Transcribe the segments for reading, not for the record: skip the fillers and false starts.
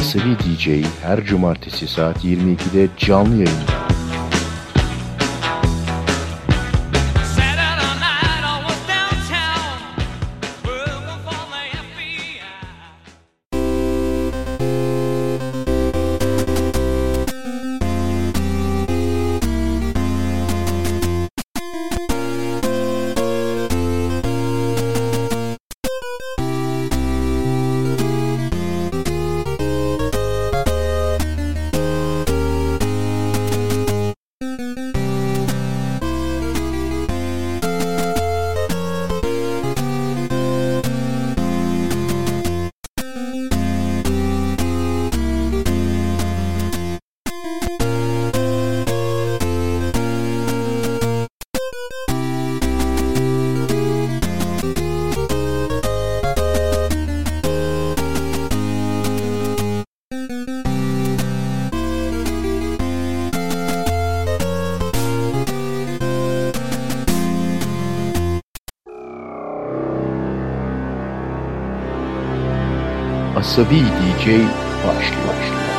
Asabi DJ her cumartesi saat 22'de canlı yayında. Asabi DJ başlıyor.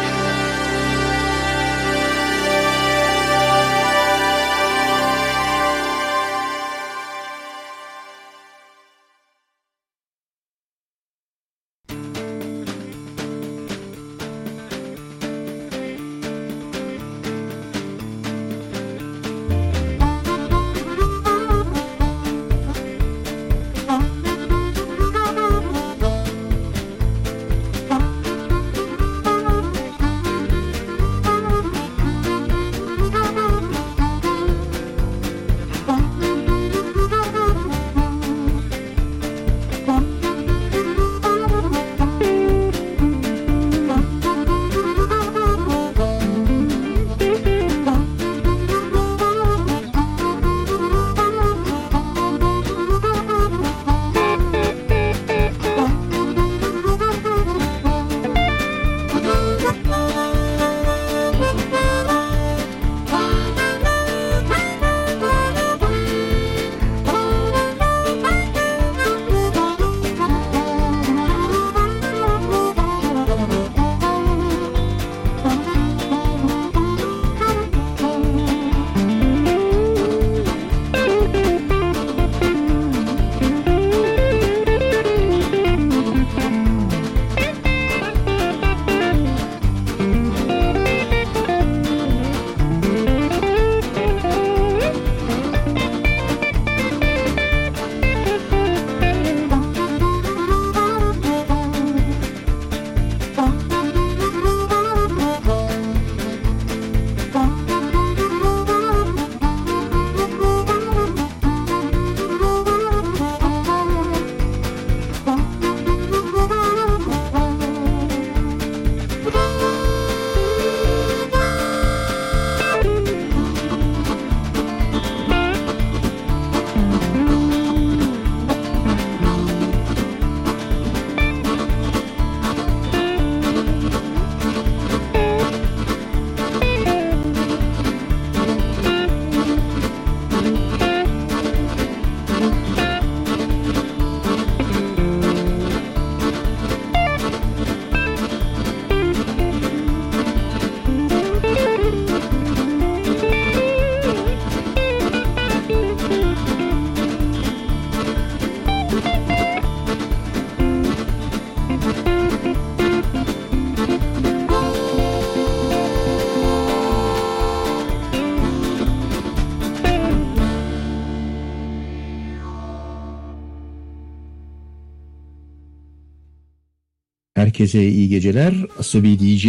Herkese iyi geceler. Asabi DJ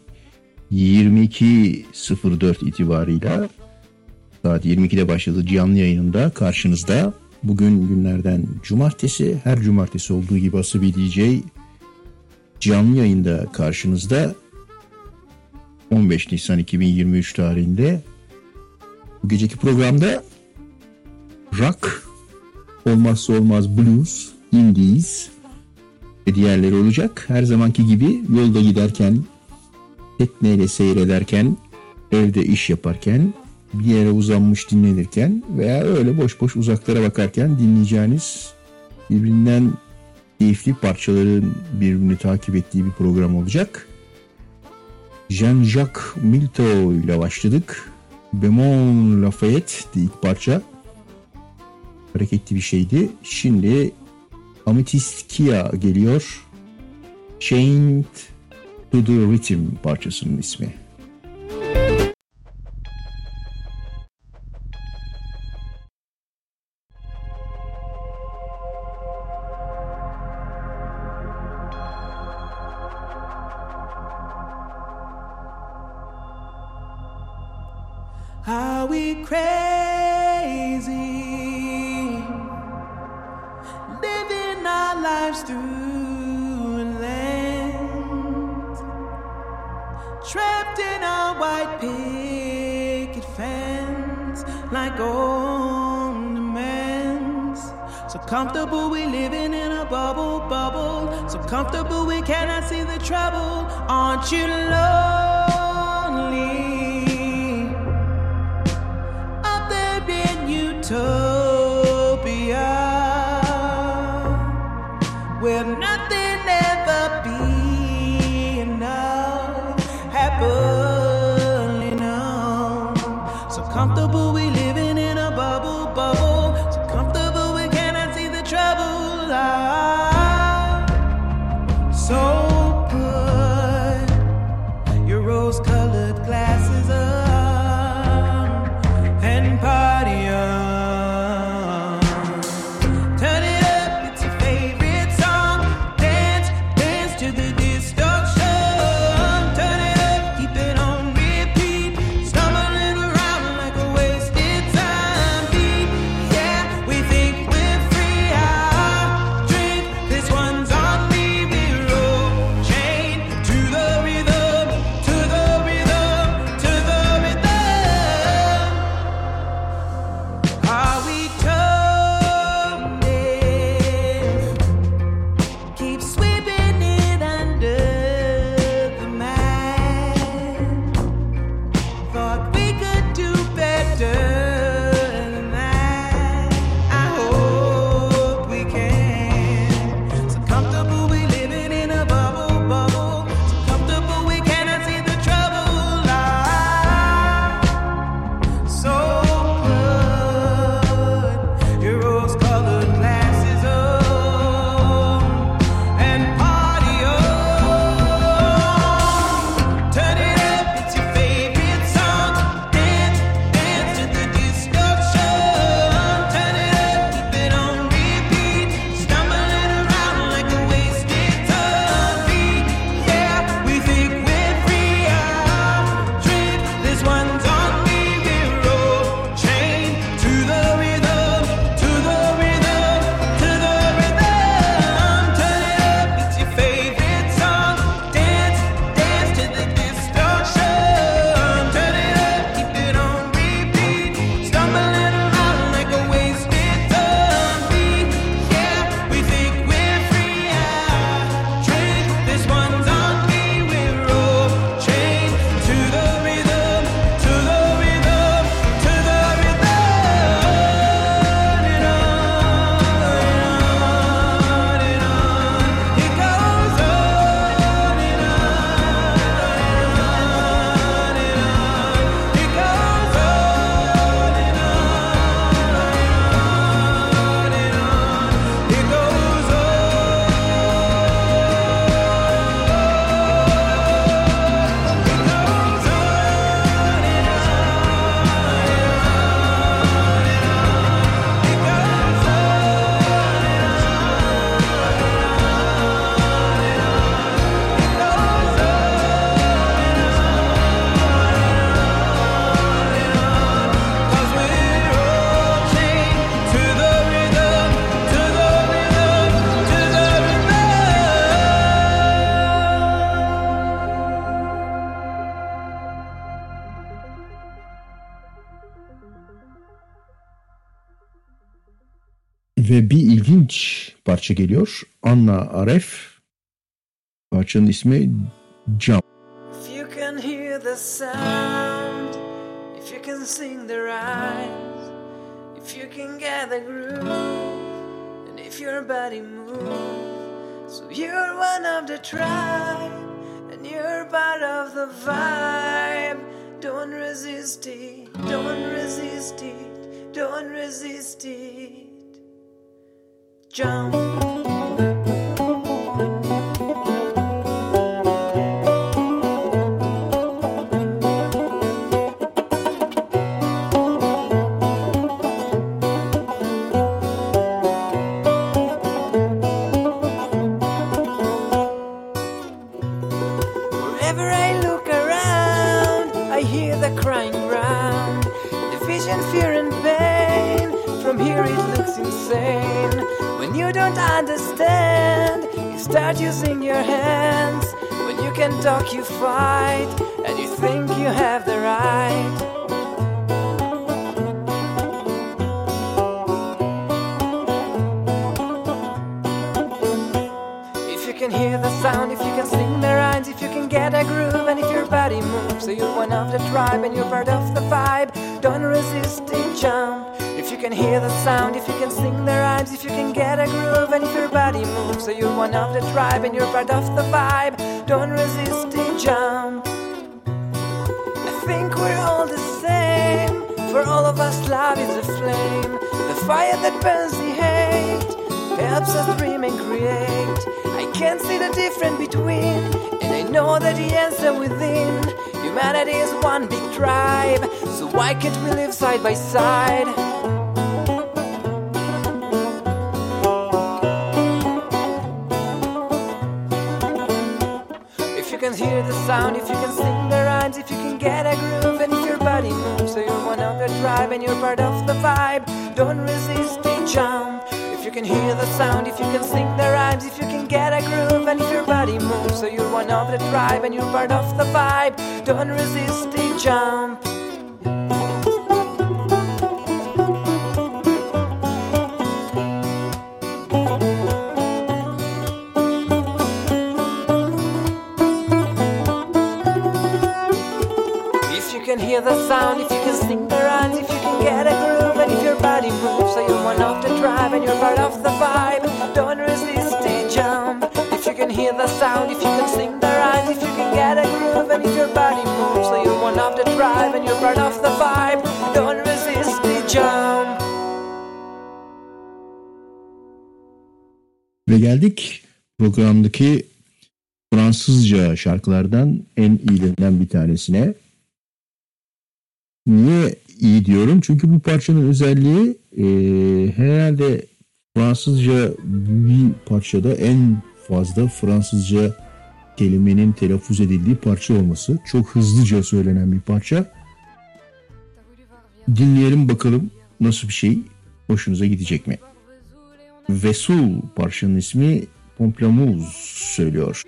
22.04 itibarıyla saat 22'de başladı canlı yayınında karşınızda. Bugün günlerden cumartesi, her cumartesi olduğu gibi Asabi DJ canlı yayında karşınızda 15 Nisan 2023 tarihinde. Bu geceki programda rock, olmazsa olmaz blues, indies ve diğerleri olacak. Her zamanki gibi yolda giderken, tekneyle seyrederken, evde iş yaparken, bir yere uzanmış dinlenirken veya öyle boş boş uzaklara bakarken dinleyeceğiniz birbirinden keyifli parçaların birbirini takip ettiği bir program olacak. Jean-Jacques Milteau ile başladık. Bemol Lafayette ilk parça. Hareketli bir şeydi. Şimdi Amethyst Kia geliyor. Chained to the Rhythm parçasının ismi. Are we crazy, living our lives through land, trapped in our white picket fence, like ornaments. So comfortable we living in a bubble, so comfortable we cannot see the trouble. Aren't you lonely? Utopia, where nothing ever be enough, happily known. So comfortable we living in a bubble, so comfortable we cannot see the trouble. So put your rose-colored glasses on and party on. Ve bir ilginç parça geliyor. Anna Aref. Parçanın ismi Jump. If you can hear the sound, if you can sing the rhymes, if you can get the groove, and if your body moves, so you're one of the tribe, and when you're part of the vibe. Don't resist it, don't resist it, don't resist it. Jump. Understand, you start using your hands. When you can talk, you fight, and you think you have the right. If you can hear the sound, if you can sing the rhymes, if you can get a groove, and if your body moves, so you're one of the tribe and you're part of the vibe. Don't resist it, jump. If you can hear the sound, if you can sing the rhymes, if you can get a groove, and if your body moves, so you're one of the tribe and you're part of the vibe. Don't resist it, jump. I think we're all the same. For all of us, love is a flame, the fire that burns the hate, helps us dream and create. I can't see the difference between, and I know that the answer within. Humanity is one big tribe, so why can't we live side by side? If you can hear the sound, if you can sing the rhymes, if you can get a groove, and if your body moves, so you're one of the tribe and you're part of the vibe. Don't resist it, jump. If you can hear the sound, if you can sing the rhymes, if you can get a groove, and if your body moves, so you're one of the tribe and you're part of the vibe. Don't resist it, jump. If you can hear the sound, if you can sing the rhymes, if you can get a groove, and if your body moves, so you're one of the tribe and you're part of the vibe. Don't resist it, jump. If you can hear the sound, if you can sing the rhymes, if you can get a groove, and if your body moves, so you're one of the tribe and you're part of the vibe. Don't resist it, jump. Ve geldik programdaki Fransızca şarkılardan en iyilerinden bir tanesine. Niye iyi diyorum? Çünkü bu parçanın özelliği herhalde Fransızca bir parçada en fazla Fransızca kelimenin telaffuz edildiği parça olması. Çok hızlıca söylenen bir parça. Dinleyelim bakalım nasıl bir şey, hoşunuza gidecek mi? Vesoul parçanın ismi, Pamplemousse söylüyor.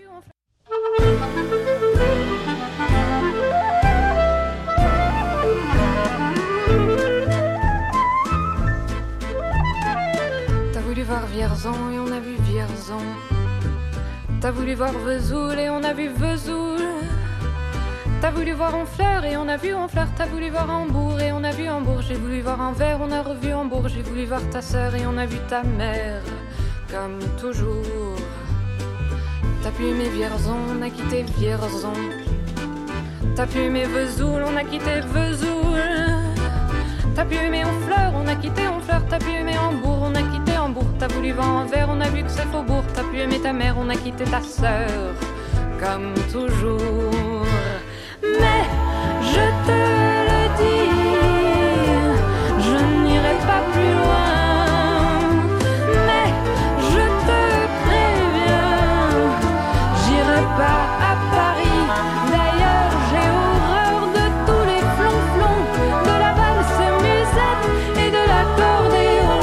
Vierzon et on a vu Vierzon. T'as voulu voir Vesoul et on a vu Vesoul. T'as voulu voir Honfleur et on a vu Honfleur. T'as voulu voir Hambourg et on a vu Hambourg. J'ai voulu voir Anvers, on a revu Hambourg. J'ai voulu voir ta sœur et on a vu ta mère, comme toujours. T'as pu aimer Vierzon, on a quitté Vierzon. T'as pu aimer Vesoul, on a quitté Vesoul. T'as pu aimer Honfleur, on a quitté Honfleur. T'as pu aimer Hambourg, on a quitté Hambourg. T'as voulu voir Anvers, on a vu que c'est Faubourg. T'as pu aimer ta mère, on a quitté ta sœur, comme toujours. Mais je te le dis, je n'irai pas plus loin. Mais je te préviens, j'irai pas à Paris. D'ailleurs j'ai horreur de tous les flonflons, de la valse musette et de l'accordéon.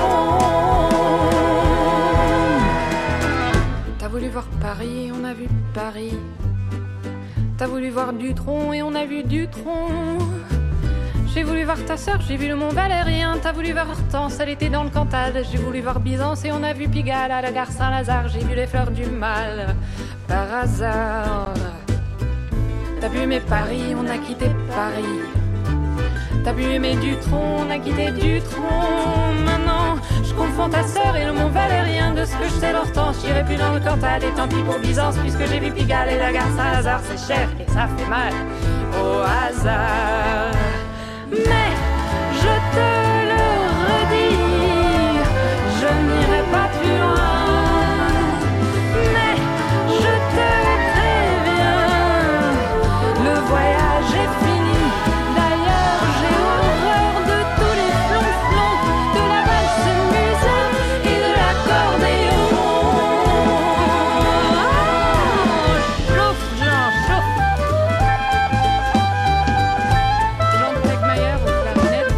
T'as voulu voir Paris, on a vu Paris. T'as voulu voir Dutronc et on a vu Dutronc. J'ai voulu voir ta sœur, j'ai vu le Mont Valérien. T'as voulu voir Hortense, elle était dans le Cantal. J'ai voulu voir Byzance et on a vu Pigalle. À la gare Saint-Lazare, j'ai vu les fleurs du mal, par hasard. T'as pu aimer Paris, on a quitté Paris. T'as pu aimer Dutronc, on a quitté Dutronc. Maintenant, je confonds ta sœur et le Mont Valérien. De ce que je sais l'Hortense, j'irai plus dans le Cantal. Et tant pis pour Byzance, puisque j'ai vu Pigalle. Et la gare Saint-Lazare, c'est cher et ça fait mal au hasard. Mais je te le redis, je n'irai pas plus loin. Mais je te préviens, le voyage est fini. D'ailleurs, j'ai horreur de tous les flonflons, de la valse musette et de l'accordéon. Chauffe, Jean, chauffe. Jean Tegmayer au clarinette.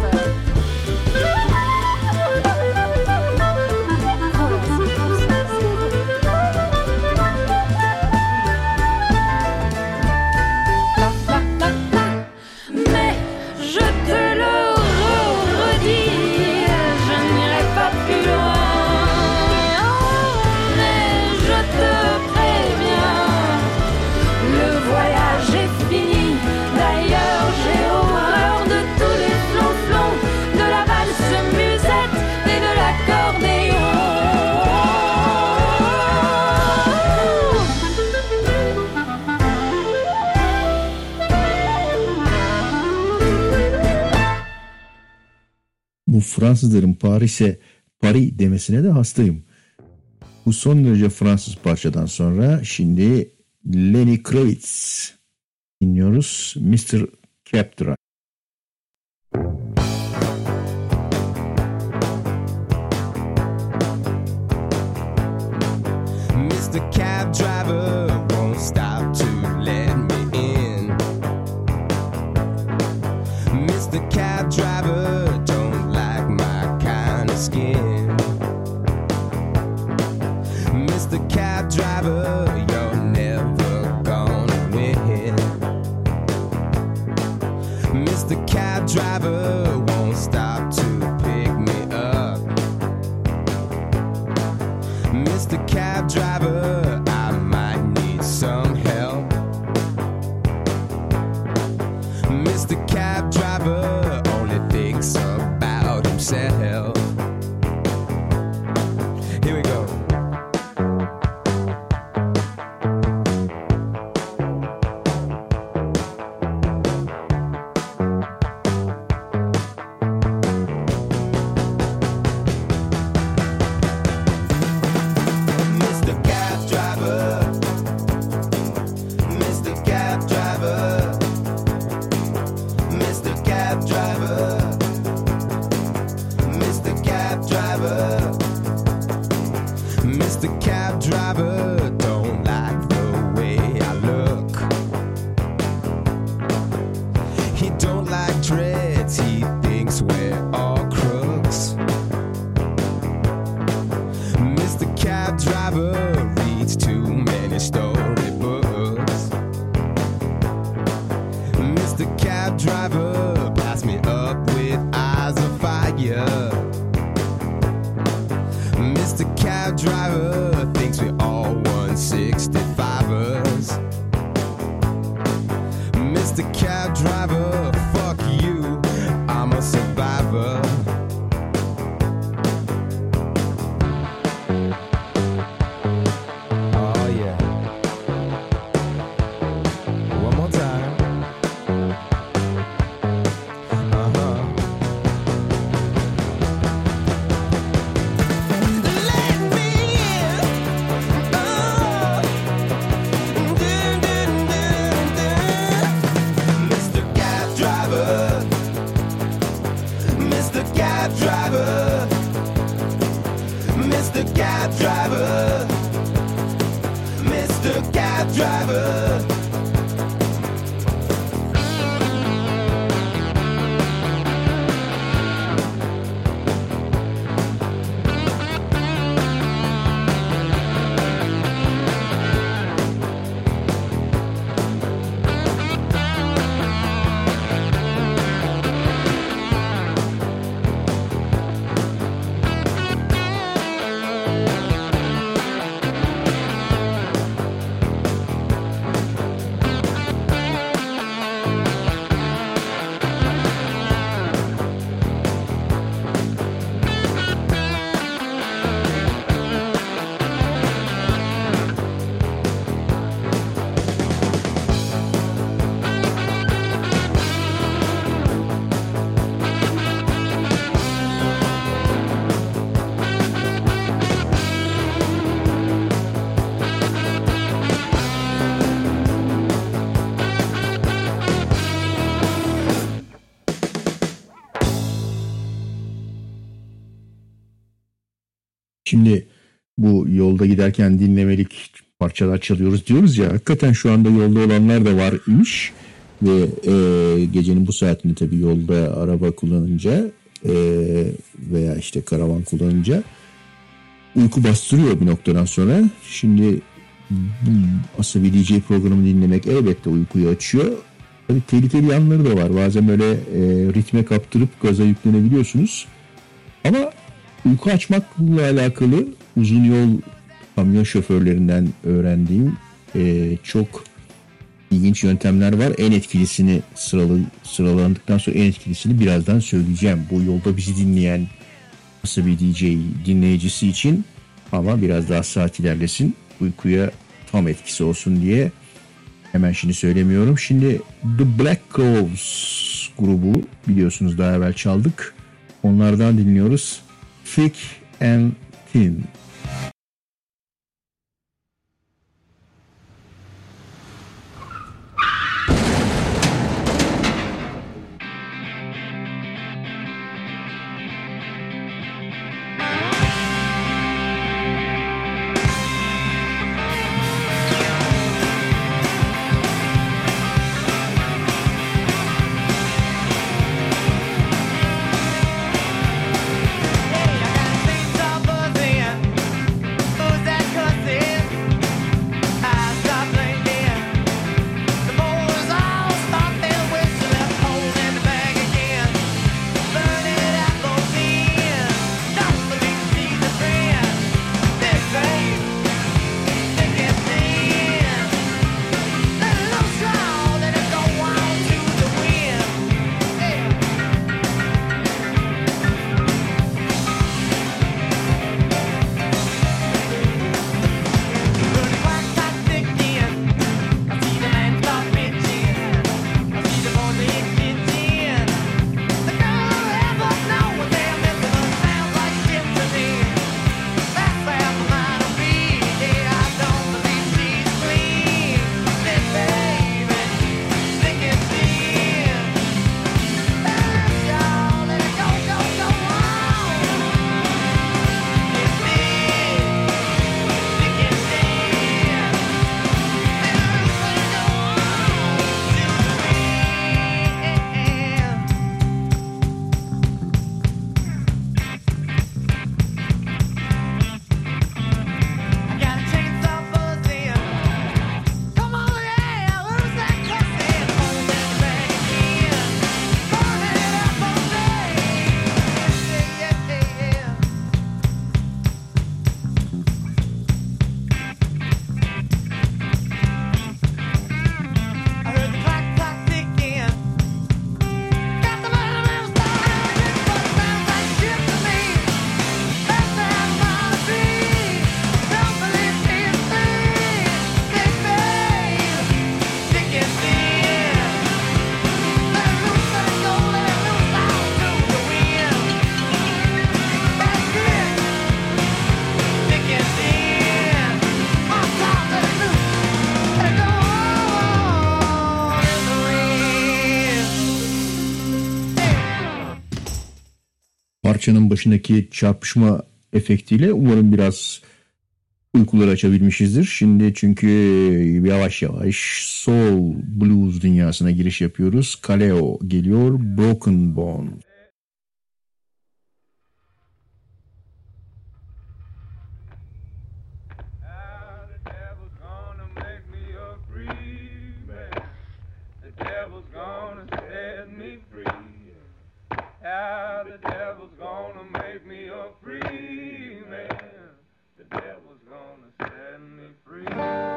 Mais je te le redis, je n'irai pas plus loin. Mais je te préviens, le voyage est fini. D'ailleurs, j'ai horreur de tous les flonflons, de la valse musette et de l'accordéon. Bu Fransızların Paris'e Paris demesine de hastayım. Bu son derece Fransız parçadan sonra şimdi Lenny Kravitz dinliyoruz. Mr. Cab Driver. Mr. Cab Driver won't stop to let me in. Mr. Cab Driver don't like my kind of skin. Mr. Cab Driver, you're never gonna win. Mr. Cab Driver won't stop to pick me up. Mr. Cab Driver, I might need some help. Mr. Cab Driver only thinks about himself. Here we go. Mr. Cab Driver, Mr. Cab Driver, Mr. Cab Driver, Mr. Cab Driver, Mr. Cab Driver don't like the way I look. He don't like dreads, he thinks we're all crooks. Mr. Cab Driver reads too many storybooks. Mr. Cab Driver, pass me up with eyes of fire. Mr. Cab Driver thinks we all 165ers. Mr. Cab Driver, fuck you, I'm a survivor. Oh yeah. One more time. Uh-huh. Let me in. Oh. Dun, dun, dun, dun. Mr. Cab Driver. Mr. Cab Driver. Mr. Cab Driver. Mr. Cab Driver. Şimdi bu yolda giderken dinlemelik parçalar çalıyoruz diyoruz ya. Hakikaten şu anda yolda olanlar da var imiş. Ve gecenin bu saatinde tabii yolda araba kullanınca veya işte karavan kullanınca uyku bastırıyor bir noktadan sonra. Şimdi Asabi DJ programını dinlemek elbette uykuyu açıyor. Tabii tehlikeli yanları da var. Bazen böyle ritme kaptırıp gaza yüklenebiliyorsunuz. Ama uyku açmakla alakalı uzun yol kamyon şoförlerinden öğrendiğim çok ilginç yöntemler var. En etkilisini sıralandıktan sonra en etkilisini birazdan söyleyeceğim. Bu yolda bizi dinleyen Asabi DJ dinleyicisi için, ama biraz daha saat ilerlesin, uykuya tam etkisi olsun diye hemen şimdi söylemiyorum. Şimdi The Black Crowes grubu biliyorsunuz, daha evvel çaldık. Onlardan dinliyoruz. Thick and Thin. Parçanın başındaki çarpışma efektiyle umarım biraz uykuları açabilmişizdir. Şimdi çünkü yavaş yavaş soul blues dünyasına giriş yapıyoruz. Kaleo geliyor, Broken Bone. How the devil's gonna make me a free man. The devil's gonna set me free.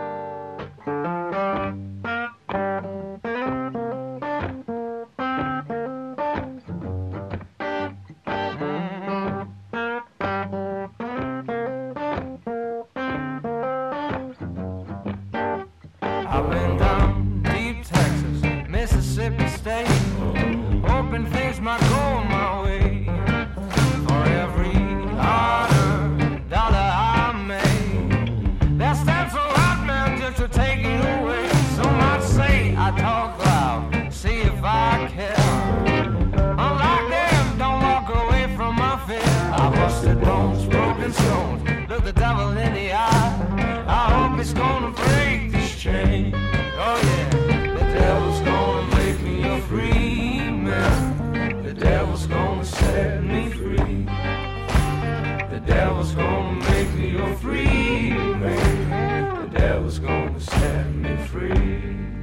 I've been down deep Texas, Mississippi State, hoping things might go my way. For every $100 I made, that stands a lot, man, just to take it away. Some might say I talk loud, see if I care. Unlike them, don't walk away from my fear. I busted bones, broken rolling stones. Look the devil in the eye. I hope it's gonna break this chain. Oh yeah, the devil's gonna make me a free man. The devil's gonna set me free. The devil's gonna make me a free man. The devil's gonna set me free.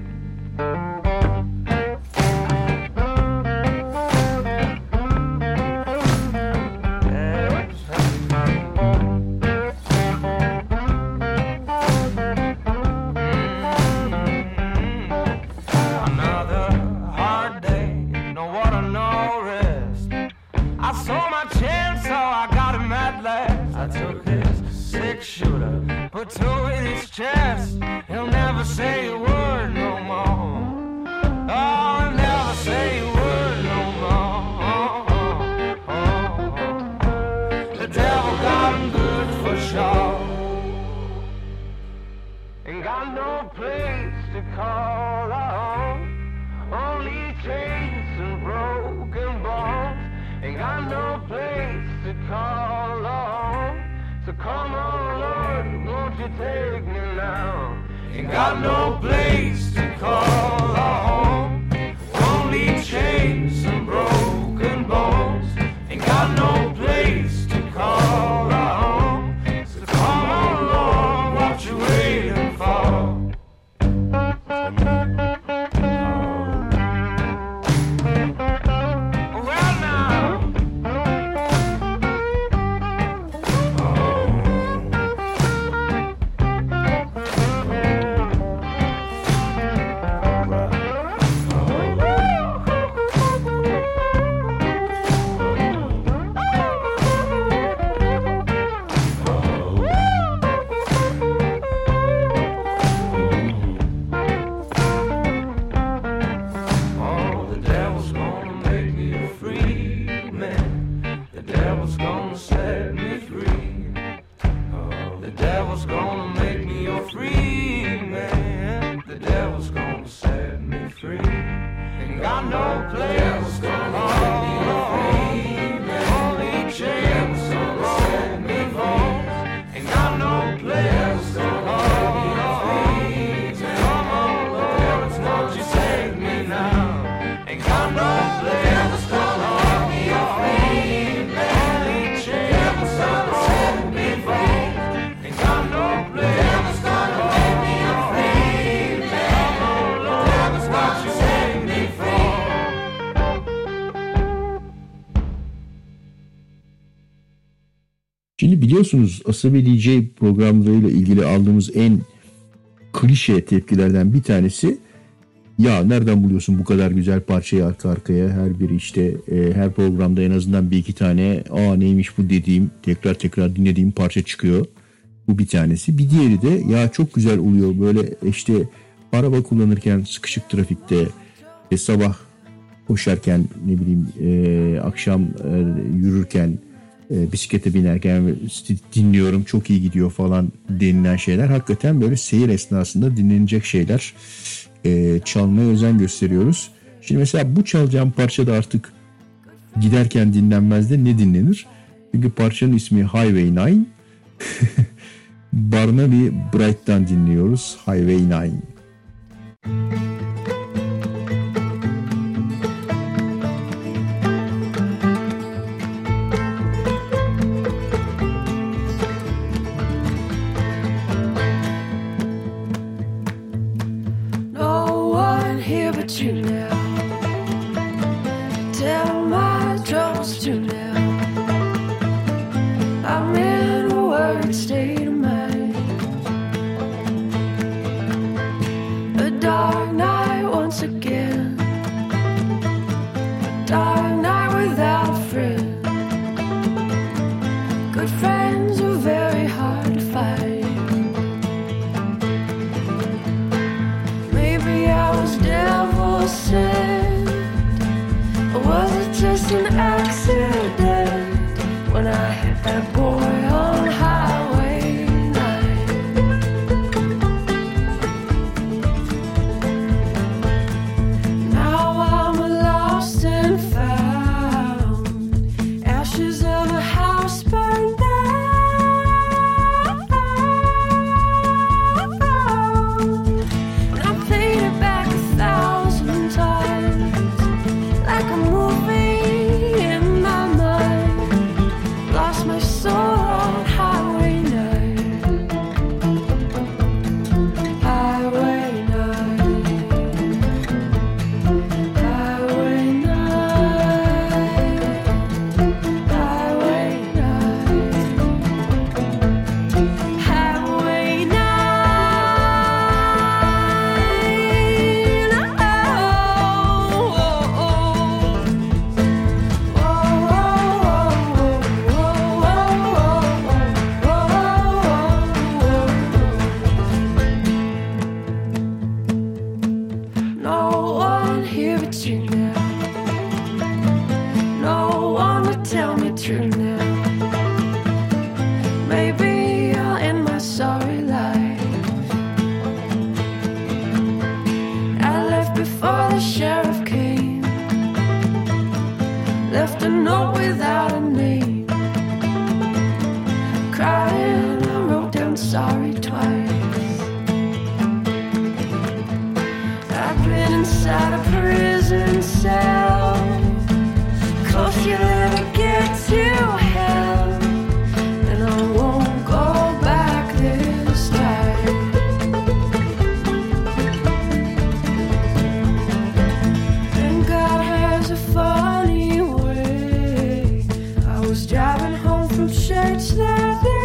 Put two in his chest. He'll never say a word no more. Oh, he'll never say a word no more. The devil got him good for sure. Ain't got no place to call home. Only chains and broken bones. Ain't got no place to call home. So come on, Lord, won't you take me now? Ain't got no place to call home. Only chains and broken bones. Ain't got no place to call home. So come on, Lord, what you waiting for? Şimdi biliyorsunuz Asabi DJ programlarıyla ilgili aldığımız en klişe tepkilerden bir tanesi, ya nereden buluyorsun bu kadar güzel parçayı arka arkaya, her biri işte her programda en azından bir iki tane neymiş bu dediğim, tekrar dinlediğim parça çıkıyor. Bu bir tanesi. Bir diğeri de ya çok güzel oluyor böyle işte araba kullanırken sıkışık trafikte, sabah koşarken, ne bileyim akşam yürürken, bisiklete binerken dinliyorum, çok iyi gidiyor falan denilen şeyler. Hakikaten böyle seyir esnasında dinlenecek şeyler, çalmaya özen gösteriyoruz. Şimdi mesela bu çalacağım parça da artık giderken dinlenmez de ne dinlenir? Çünkü parçanın ismi Highway 9. Barnaby Bright'tan dinliyoruz Highway 9. Ashes of a house burned down. without a name. Crying, I wrote down sorry twice. I've been inside a prison cell. Close you'll ever get to hell. And I won't go back this time. And God has a funny way. I was driving home from church that day.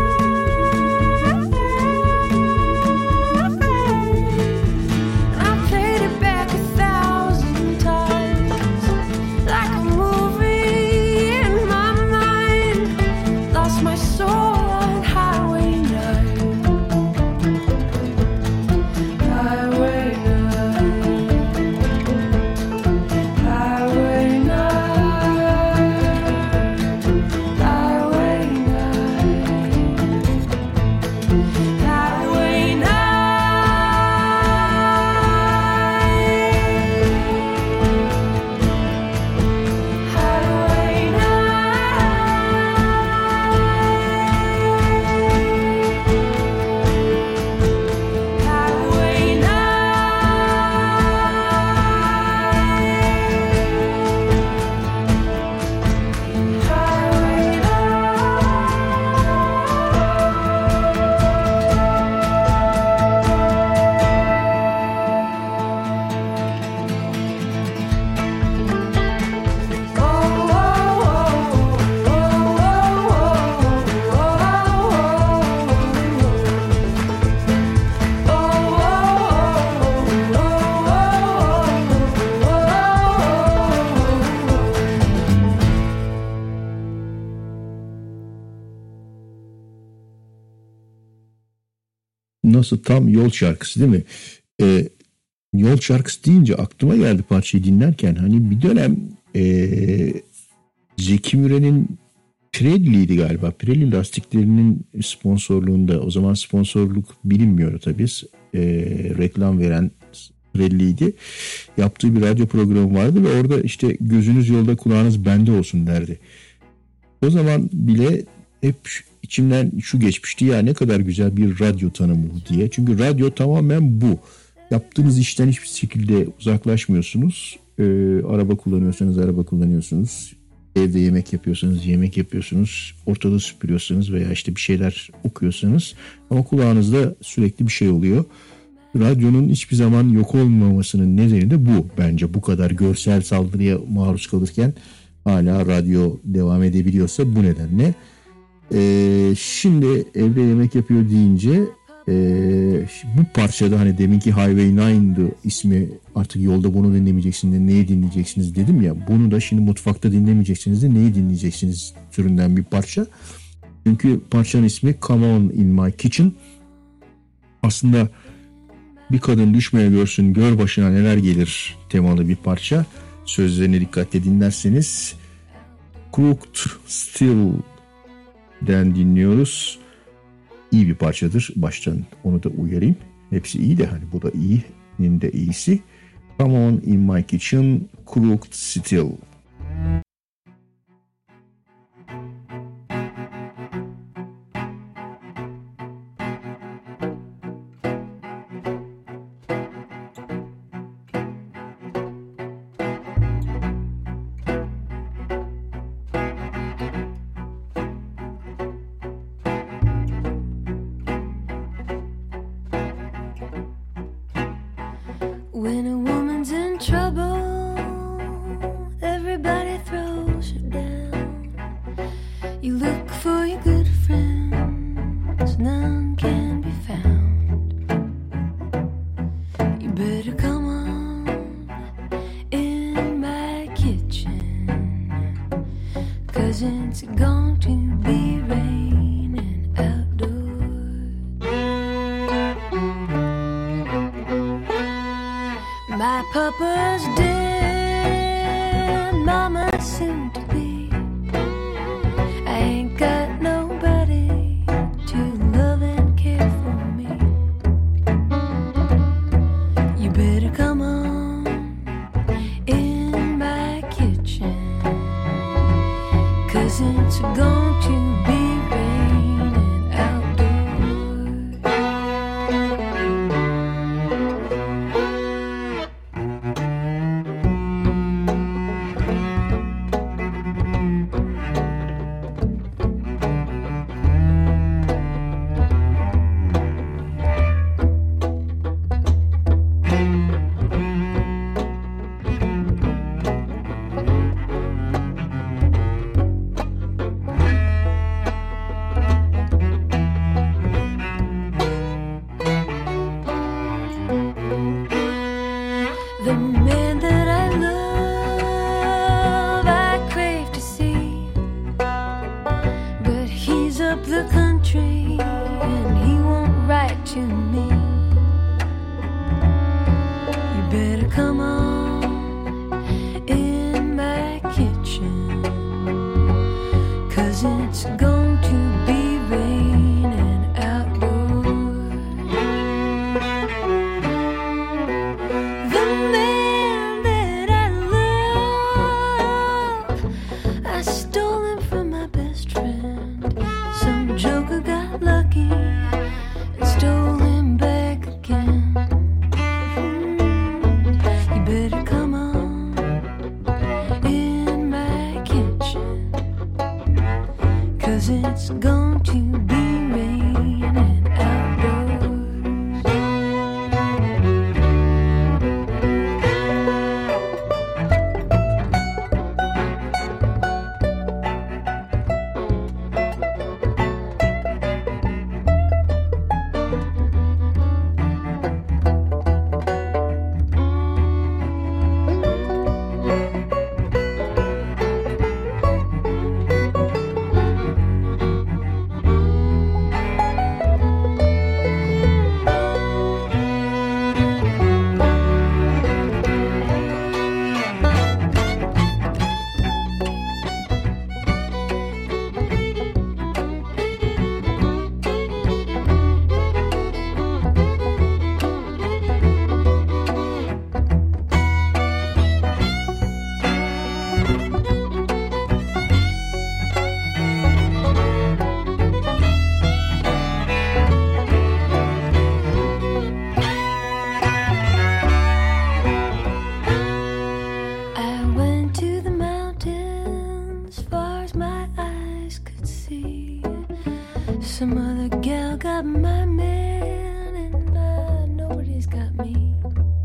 Nasıl tam yol şarkısı değil mi? Yol şarkısı deyince aklıma geldi parçayı dinlerken. Hani bir dönem Zeki Müren'in Pirelli'ydi galiba. Pirelli lastiklerinin sponsorluğunda, o zaman sponsorluk bilinmiyordu tabii. Reklam veren Pirelli'ydi. Yaptığı bir radyo programı vardı ve orada işte gözünüz yolda kulağınız bende olsun derdi. O zaman bile hep içimden şu geçmişti, ya ne kadar güzel bir radyo tanımı diye. Çünkü radyo tamamen bu. Yaptığınız işten hiçbir şekilde uzaklaşmıyorsunuz. Araba kullanıyorsanız araba kullanıyorsunuz. Evde yemek yapıyorsanız yemek yapıyorsunuz. Ortalığı süpürüyorsanız veya işte bir şeyler okuyorsanız. Ama kulağınızda sürekli bir şey oluyor. Radyonun hiçbir zaman yok olmamasının nedeni de bu. Bence bu kadar görsel saldırıya maruz kalırken hala radyo devam edebiliyorsa bu nedenle. Şimdi evde yemek yapıyor deyince bu parçada hani deminki Highway 9'du ismi, artık yolda bunu dinlemeyeceksiniz de neyi dinleyeceksiniz dedim ya, bunu da şimdi mutfakta dinlemeyeceksiniz de neyi dinleyeceksiniz türünden bir parça. Çünkü parçanın ismi Come On In My Kitchen. Aslında bir kadın düşmeye görsün gör başına neler gelir temalı bir parça. Sözlerine dikkatle dinlerseniz Crooked Still'den dinliyoruz. İyi bir parçadır. Baştan onu da uyarayım. Hepsi iyi de hani bu da iyinin de iyisi. Come On In My Kitchen, Crooked Still. When a woman's in trouble, everybody throws her down. You look for your good friends, none can be found. You better come on in my kitchen, 'cause it's going to be raining outdoors. My papa's dead, mama's soon to be. I ain't got nobody to love and care for me. You better come on in my kitchen, the country and he won't write to me. You better come on in my kitchen, 'cause it's going to be raining outdoors. The man that I love, I stole him from my best friend. Some joker got lucky and stole him back again. You better come on in my kitchen, 'cause it's going to be raining outdoors. I went to the mountains far as my eyes could see. Some other gal got my man and nobody's got me.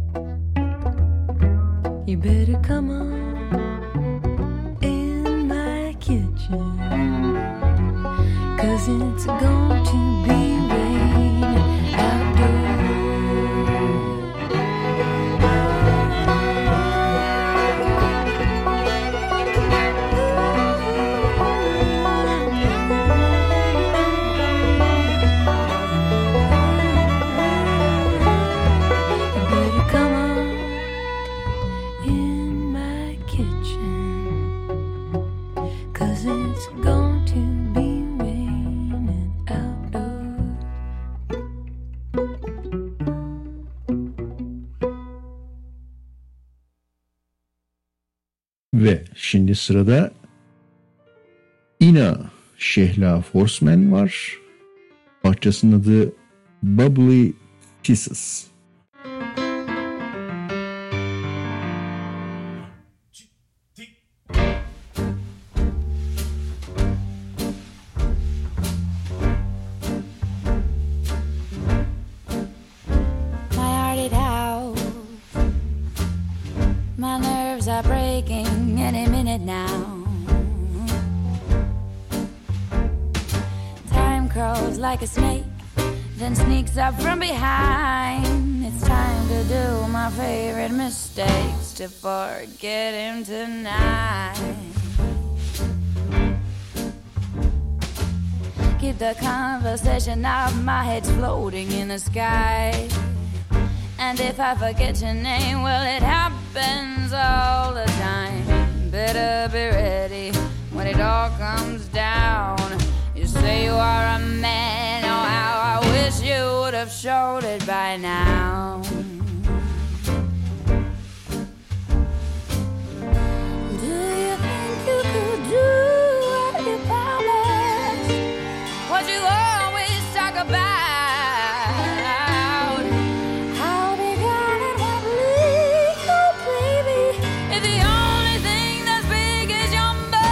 You better come on in my kitchen, 'cause it's going to be raining outdoors. You better come on in my kitchen, 'cause it's going to be raining outdoors. Ve şimdi sırada Ina Şehla Forsman var. Parçasının adı Bubbly Pieces. My heart it howls. My nerves are breaking any minute now. Time crawls like a snake, then sneaks up from behind. It's time to do my favorite mistakes to forget him tonight. Keep the conversation out, my head's floating in the sky. And if I forget your name, well, it happens all the time. Better be ready when it all comes down. You say you are a man, oh how I wish you would have showed it by now. Do you think you could do what you promised? What you always talk about? How big on it, what bleak, oh baby, if the only thing that's big is your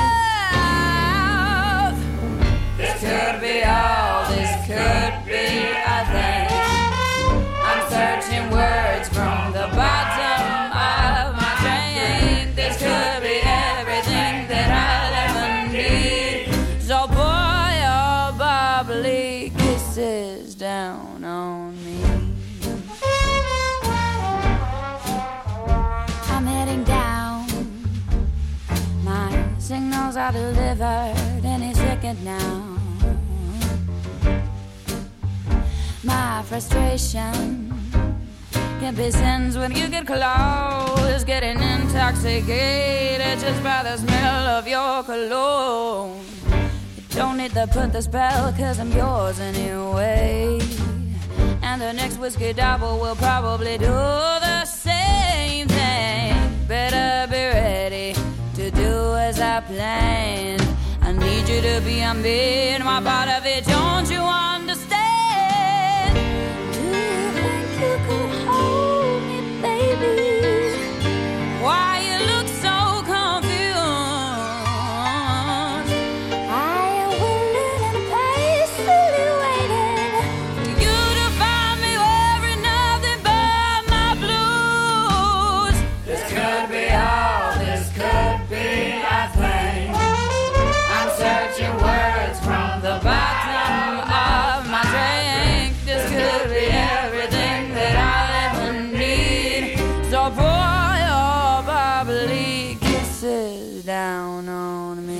mouth. This could be all, this could be a thing. I'm searching words from the bottom of my brain. This could be everything that I'll ever need. So pour your bubbly kisses down on me. I'm heading down. My signals are delivered any second now. frustration can be sins when you get close, getting intoxicated just by the smell of your cologne. You don't need to put the spell, 'cause I'm yours anyway. And the next whiskey double will probably do the same thing. Better be ready to do as I planned. I need you to be a man, my part of it, don't you understand? Do you think you could hold me, baby? Why you look so confused? I am willing and patiently waiting for you to find me wearing nothing but my blues. This could be all, this could be a thing. I'm searching words from the bottom of my drink. This could be everything that I'll ever need. So pour your bubbly kisses down on me.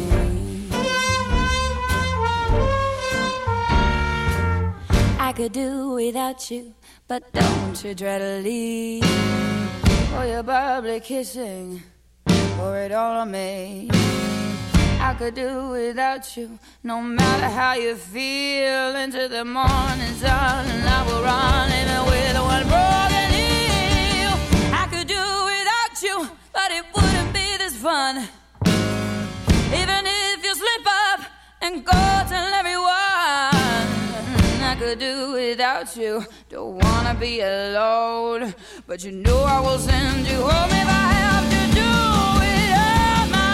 I could do without you, but don't you try to leave. Pour your bubbly kissing, pour it all on me. I could do without you, no matter how you feel. Into the morning sun, and I will run even with one broken heel. I could do without you, but it wouldn't be this fun. Even if you slip up and go tell everyone. I could do without you, don't wanna be alone. But you know I will send you home if I have to do it on my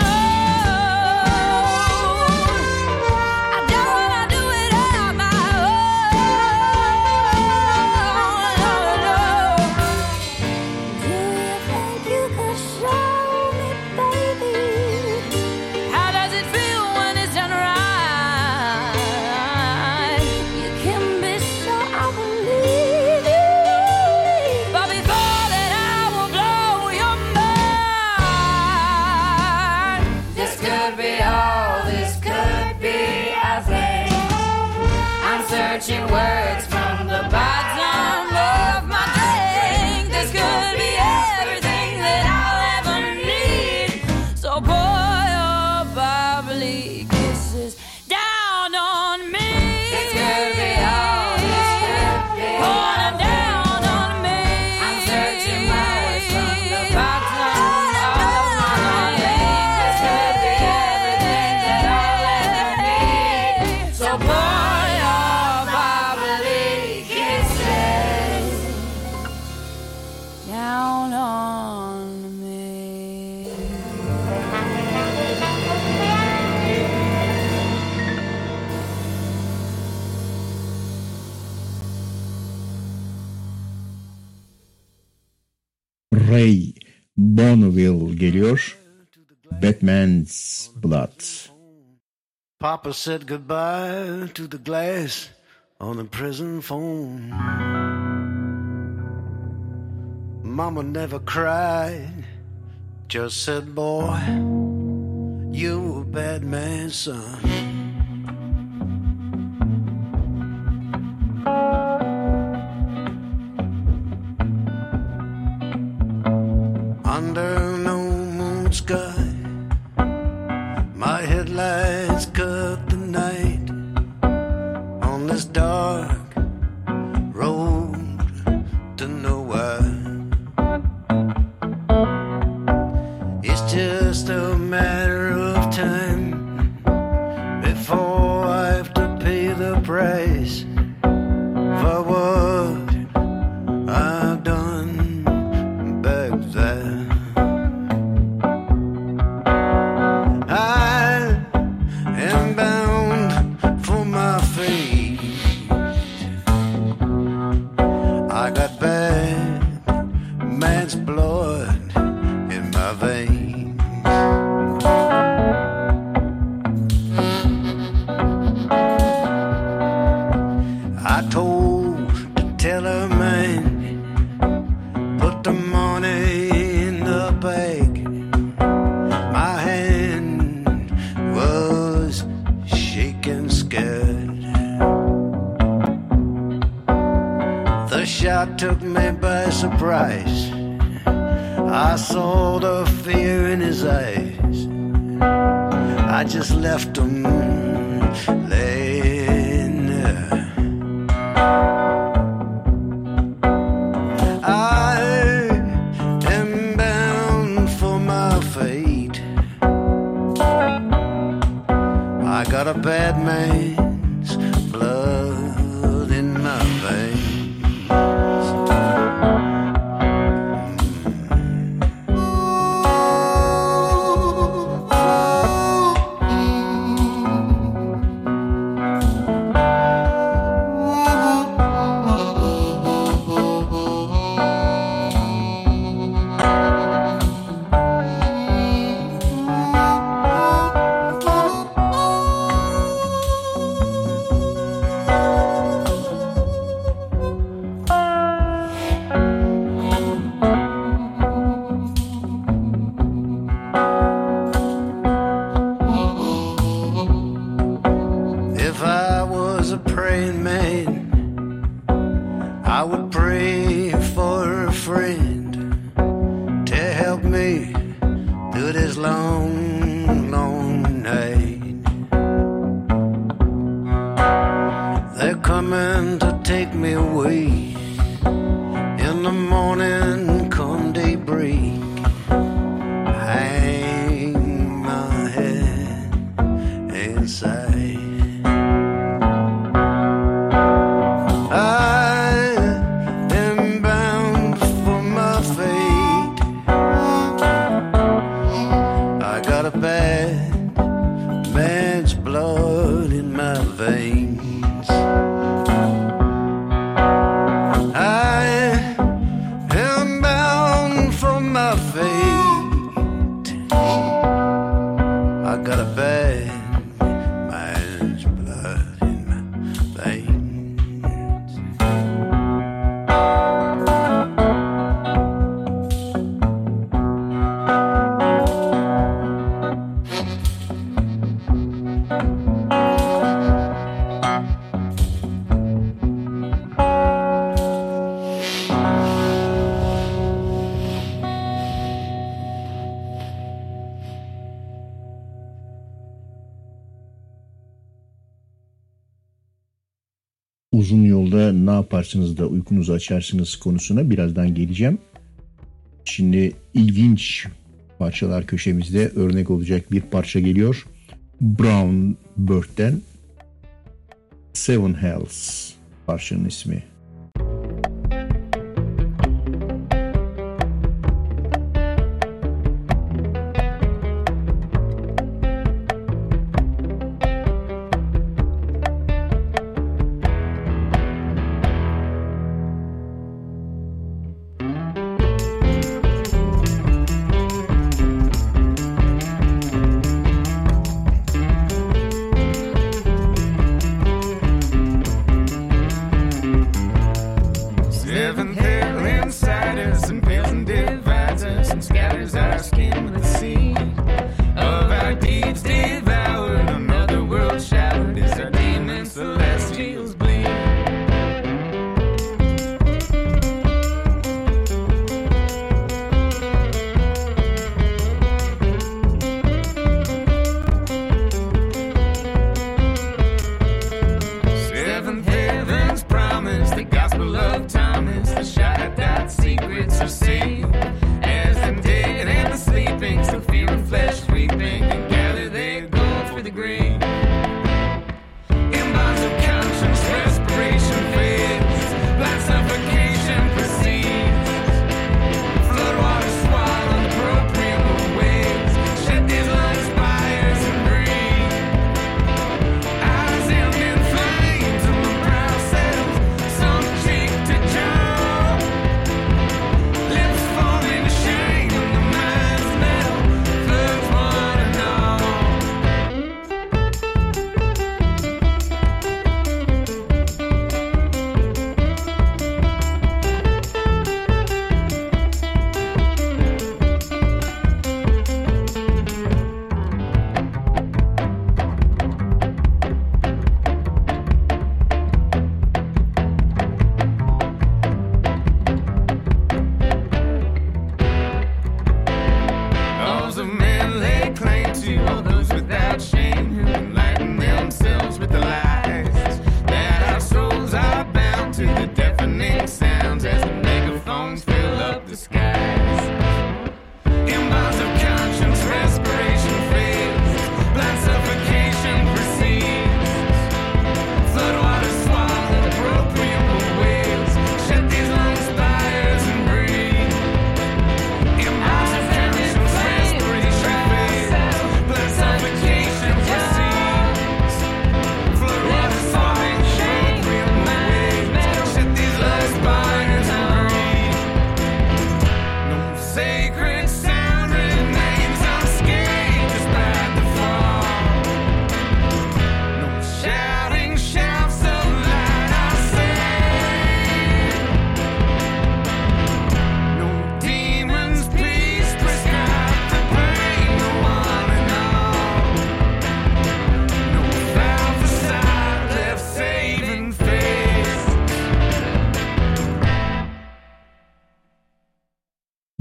own. I don't wanna do it on my own. Do you think you could show me, baby? How does it feel when it's done right? You can be sure I believe it. But before that, I will blow your mind. This could be all, this could be a thing. I'm searching words from the bottom of my drink. This could be everything that I'll ever need. So pour your bubbly kisses down on me. This could be all, this could be Pour a them down on me. I'm searching words from the bottom of my drink. This could be everything that I'll ever need. So pour your bubbly kisses Down on me. Ray Bonneville geliyor. Batman's Blood. Papa said goodbye to the glass on the prison phone. Mama never cried, just said, boy, you a bad man's son. Under no moon sky, my headlights cut the night on this dark road to nowhere. It's just a matter of time before I have to pay the price for what I've done back there. I am bound for my fate. I got bad man's blood in my veins. took me by surprise. I saw the fear in his eyes. I just left him laying there. I am bound for my fate. I got a bad man's blood in my veins. Uzun yolda ne yaparsınız da uykunuzu açarsınız konusuna birazdan geleceğim. Şimdi ilginç parçalar köşemizde örnek olacak bir parça geliyor. Brown Bird'den Seven Hells parçanın ismi.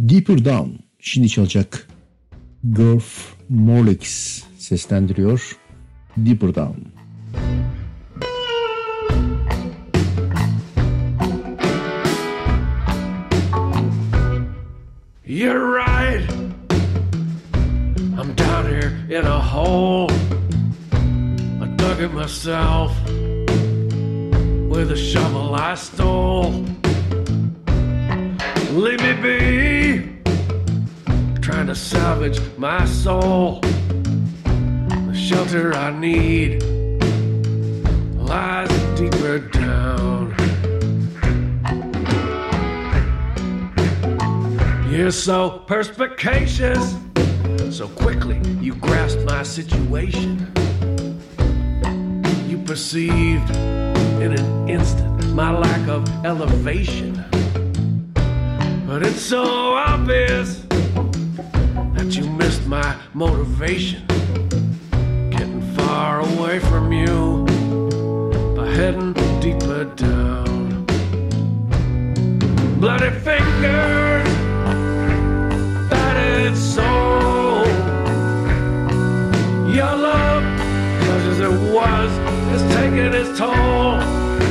Deeper Down şimdi çalacak. Garth Morlex seslendiriyor. Deeper Down. You're right. I'm down here in a hole. I dug it myself with a shovel I stole. Leave me be, trying to salvage my soul. The shelter I need lies deeper down. You're so perspicacious, so quickly you grasped my situation. You perceived in an instant my lack of elevation. But it's so obvious that you missed my motivation. Getting far away from you by heading deeper down. Bloody fingers, battered soul. Your love, such as it was, is taking its toll.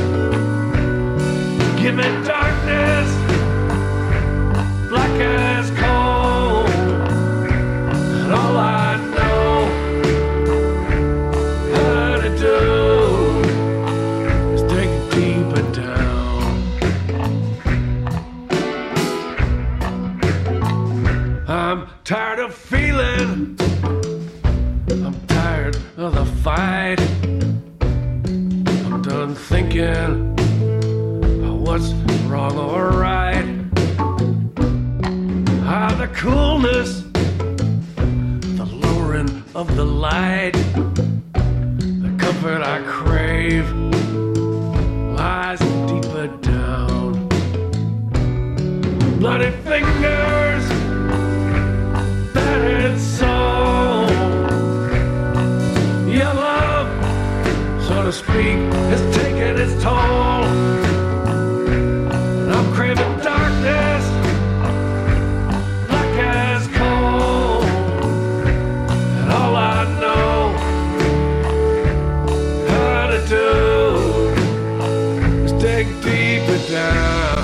Give me darkness, black as coal, and all I know how to do is dig deeper down. I'm tired of feeling, I'm tired of the fight. I'm done thinking about what's wrong or right. The coolness, the lowering of the light, the comfort I crave lies deeper down. Bloody fingers, battered soul. Your love, so to speak, is taking its toll. And I'm craving darkness, as cold, and all I know how to do is dig deeper down.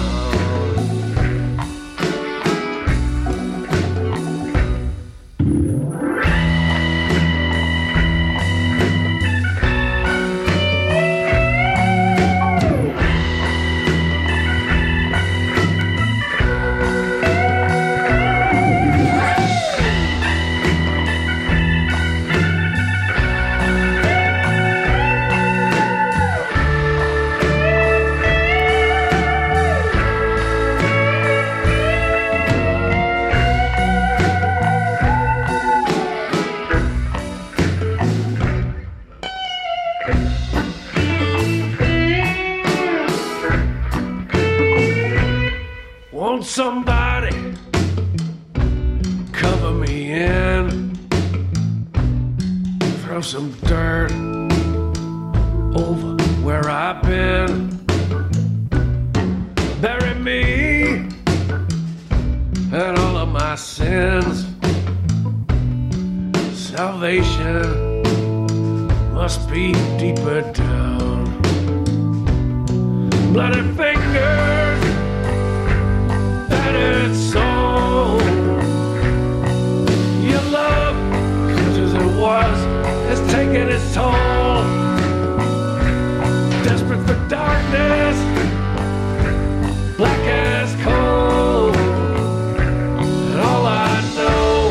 Somebody cover me in, throw some dirt over where I've been, bury me and all of my sins. Salvation must be deeper down. Bloody fingers, battered soul. Your love, such as it was, has taken its toll. Desperate for darkness, black as coal, and all I know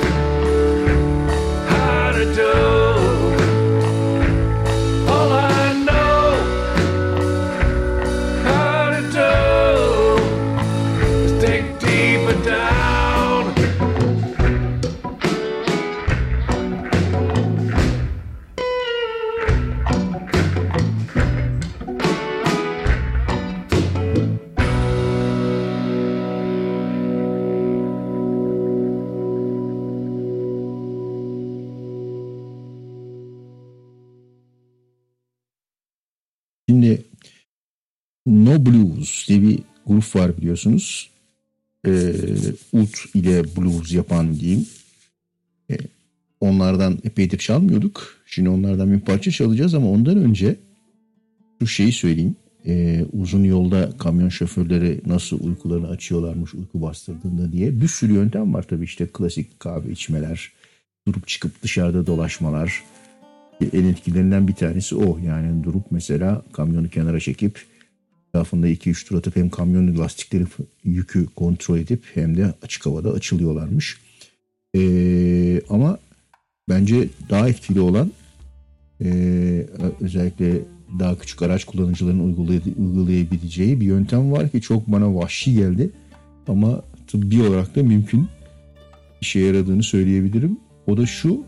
how to do. All I know how to do is dig deeper down. Şimdi No Blues diye bir grup var biliyorsunuz. Ud ile blues yapan diyeyim. Onlardan epeydir çalmıyorduk. Şimdi onlardan bir parça çalacağız ama ondan önce şu şeyi söyleyeyim. Uzun yolda kamyon şoförleri nasıl uykularını açıyorlarmış uyku bastırdığında diye. Bir sürü yöntem var tabii, işte klasik kahve içmeler, durup çıkıp dışarıda dolaşmalar. En etkilerinden bir tanesi o. Yani durup mesela kamyonu kenara çekip etrafında 2-3 tur atıp hem kamyonun lastikleri yükü kontrol edip hem de açık havada açılıyorlarmış. Ama bence daha etkili olan özellikle daha küçük araç kullanıcılarının uygulayabileceği bir yöntem var ki çok bana vahşi geldi. Ama tıbbi olarak da mümkün, işe yaradığını söyleyebilirim. O da şu: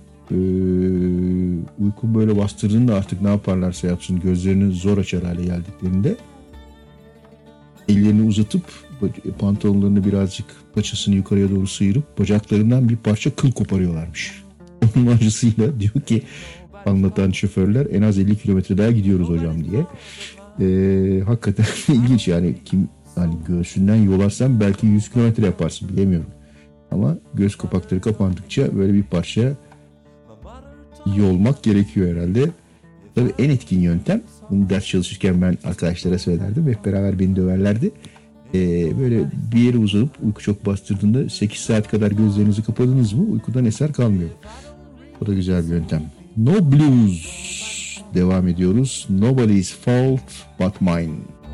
uyku böyle bastırdığında artık ne yaparlarsa yapsın gözlerini zor açar hale geldiklerinde ellerini uzatıp pantolonlarını birazcık paçasını yukarıya doğru sıyırıp bacaklarından bir parça kıl koparıyorlarmış. Onun acısıyla diyor ki anlatan şoförler, en az 50 kilometre daha gidiyoruz hocam diye. Hakikaten ilginç yani, kim hani göğsünden yolarsan belki 100 kilometre yaparsın, bilemiyorum. Ama göz kapakları kapandıkça böyle bir parça yolmak gerekiyor herhalde. Tabii en etkin yöntem, bunu ders çalışırken ben arkadaşlara söylerdim, hep beraber beni döverlerdi. Böyle bir yere uzanıp uyku çok bastırdığında 8 saat kadar gözlerinizi kapadınız mı uykudan eser kalmıyor. O da güzel bir yöntem. No Blues devam ediyoruz. Nobody's fault but mine.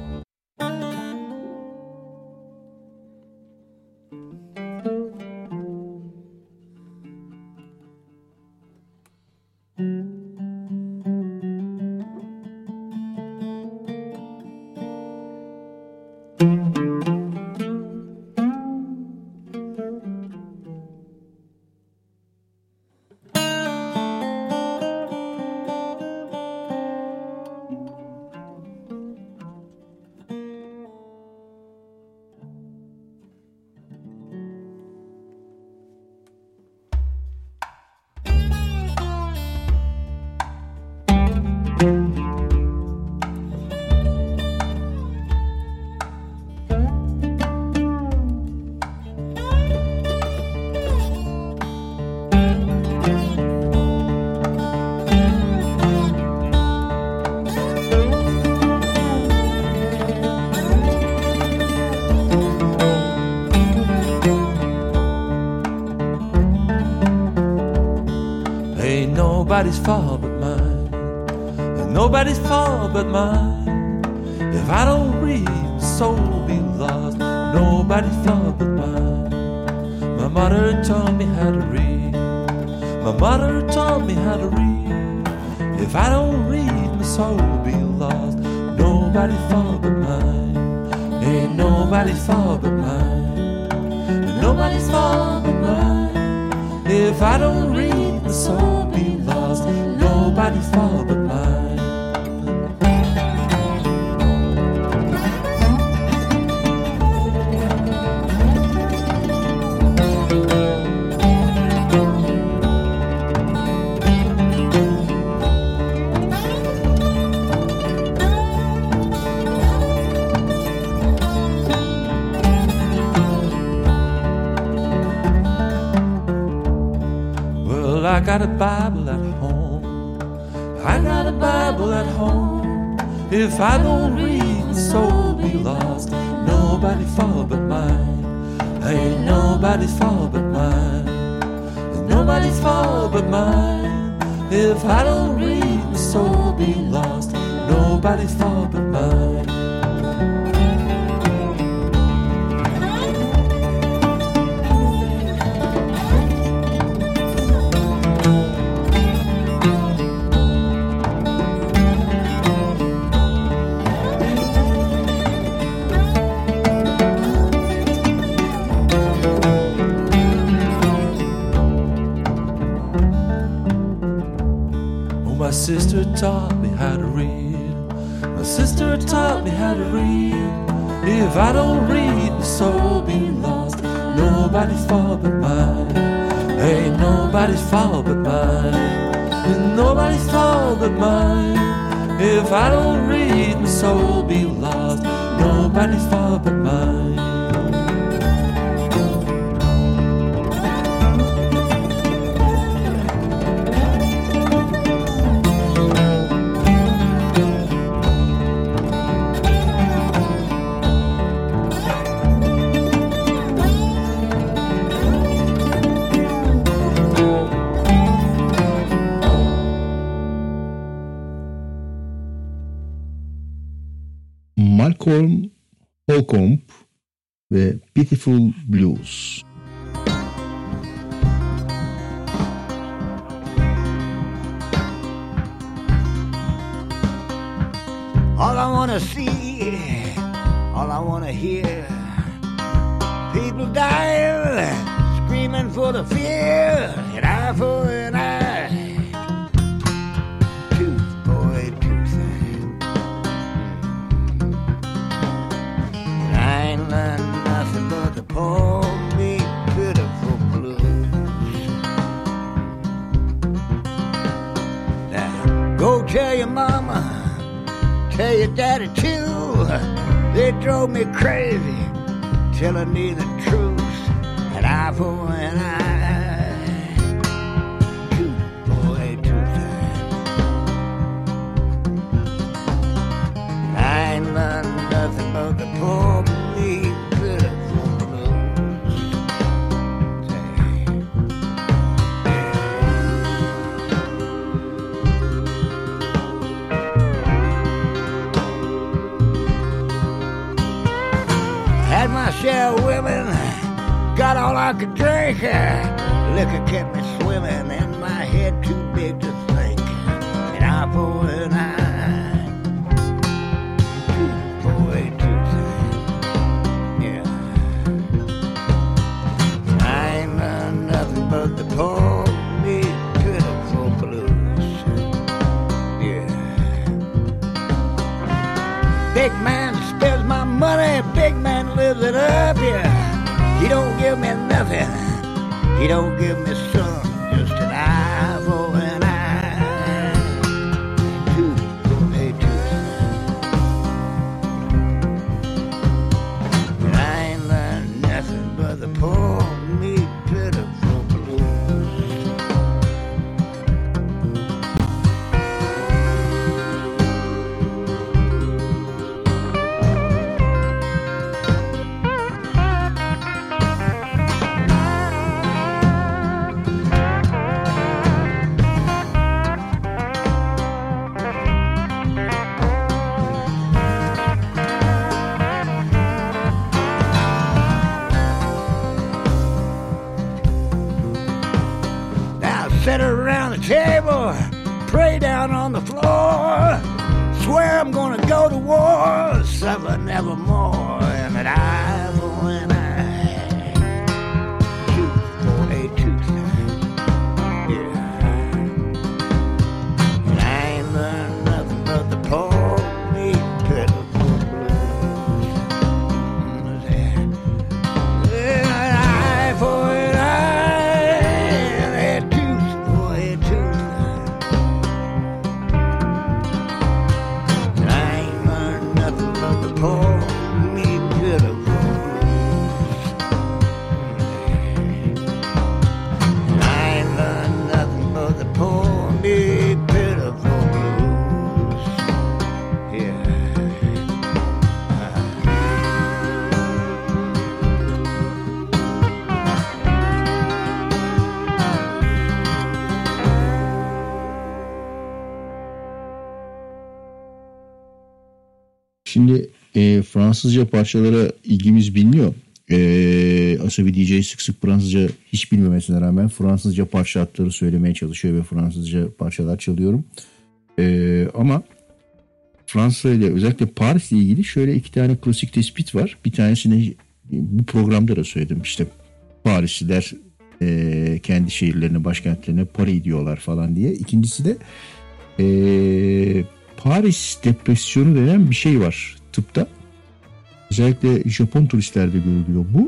Nobody's fault but mine. Nobody's fault but mine. If I don't read, my soul will be lost. Nobody's fault but mine. My mother taught me how to read. My mother taught me how to read. If I don't read, my soul will be lost. Nobody's fault but mine. Ain't nobody's fault but mine. Nobody's fault but mine. If I don't read, my soul will be lost. Nobody's fault but mine. I got a Bible at home. I got a Bible at home. If I don't read, my soul will be lost. Nobody's fault but mine. Ain't nobody's fault but mine. Ain't nobody's fault but mine. If I don't read, my soul will be lost. Nobody's fault but mine. My sister taught me how to read. My sister taught me how to read. If I don't read, my soul will be lost. Nobody's fault but mine. Ain't nobody's fault but mine. Ain't nobody's fault but mine. If I don't read, my soul will be lost. Nobody's fault but mine. Malcolm Holcomb ve Pitiful Blues. All I wanna see, all I wanna hear, people dying, screaming for the fear, an eye for an eye, tooth, boy, tooth. I ain't learned nothing but the poor, big, pitiful blues. Now, go tell your mama, tell your daddy too, they drove me crazy, telling me the truth, an eye for an eye, tooth, boy, tooth. I ain't learned nothing but the poor, bleak, pitiful blues. Had my share of women, got all I could drink. Liquor kept me swimming and my head too big to think. An eye for an eye, tooth for a tooth. Yeah. I ain't learned nothing but the poor, big, pitiful blues. Yeah. Big man spends my money, big man lives it up, yeah. He don't give me nothing, he don't give me some, just an eye for an eye, tooth for a tooth. And I ain't learned nothing but the poor, meek, pitiful blues. Sit around the table, pray down on the floor, swear I'm gonna go to war, suffer nevermore, and that eye for an eye, tooth for a tooth. Yeah. And I ain't learned nothing but the poor, meek, pitiful blues. Yeah, an eye for an eye, and a tooth for a tooth. And I ain't learned nothing but the poor, meek, pitiful blues. And I ain't learned nothing but the poor, meek, pitiful blues. Yeah. Şimdi Fransızca parçalara ilgimiz biliniyor. Asabi DJ sık sık Fransızca hiç bilmemesine rağmen Fransızca parça hatları söylemeye çalışıyor ve Fransızca parçalar çalıyorum. Ama Fransa ile özellikle Paris ile ilgili şöyle iki tane klasik tespit var. Bir tanesini bu programda da söyledim. İşte Parisliler kendi şehirlerine, başkentlerine Paris diyorlar falan diye. İkincisi de Paris depresyonu denen bir şey var tıpta. Özellikle Japon turistlerde görülüyor bu.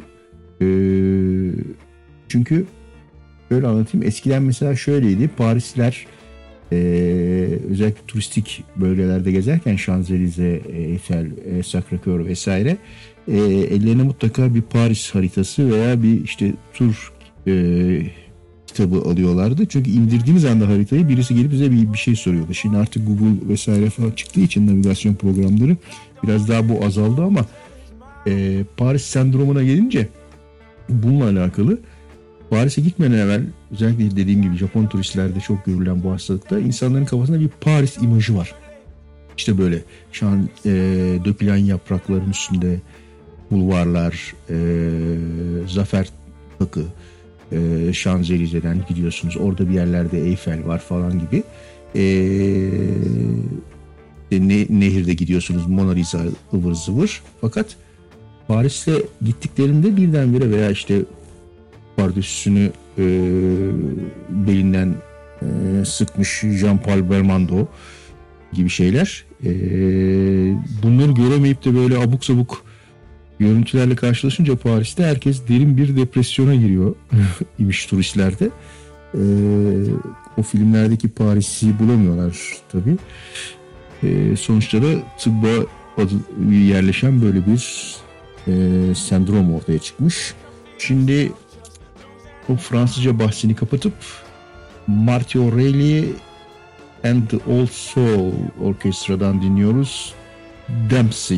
Çünkü şöyle anlatayım. Eskiden mesela şöyleydi. Parisliler özellikle turistik bölgelerde gezerken Şanzelize, Eiffel, Sacré-Cœur vesaire ellerine mutlaka bir Paris haritası veya bir işte tur kitabı alıyorlardı. Çünkü indirdiğimiz anda haritayı birisi gelip bize bir şey soruyordu. Şimdi artık Google vesaire falan çıktığı için navigasyon programları biraz daha bu azaldı ama Paris sendromuna gelince bununla alakalı Paris'e gitmeden evvel özellikle dediğim gibi Japon turistlerde çok görülen bu hastalıkta insanların kafasında bir Paris imajı var. İşte böyle dökülen yaprakların üstünde bulvarlar, Zafer Takı, Şanzelize'den gidiyorsunuz. Orada bir yerlerde Eyfel var falan gibi. Nehirde gidiyorsunuz, Mona Lisa ıvır zıvır. Fakat Paris'e gittiklerinde birdenbire veya işte pardösüsünü belinden sıkmış Jean-Paul Belmondo gibi şeyler. Bunları göremeyip de böyle abuk sabuk görüntülerle karşılaşınca Paris'te herkes derin bir depresyona giriyor imiş turistlerde. O filmlerdeki Paris'i bulamıyorlar tabii. Sonuçta da tıbba yerleşen böyle bir sendrom ortaya çıkmış. Şimdi o Fransızca bahsini kapatıp Marty O'Reilly and the Old Soul Orkestra'dan dinliyoruz. Dempsey.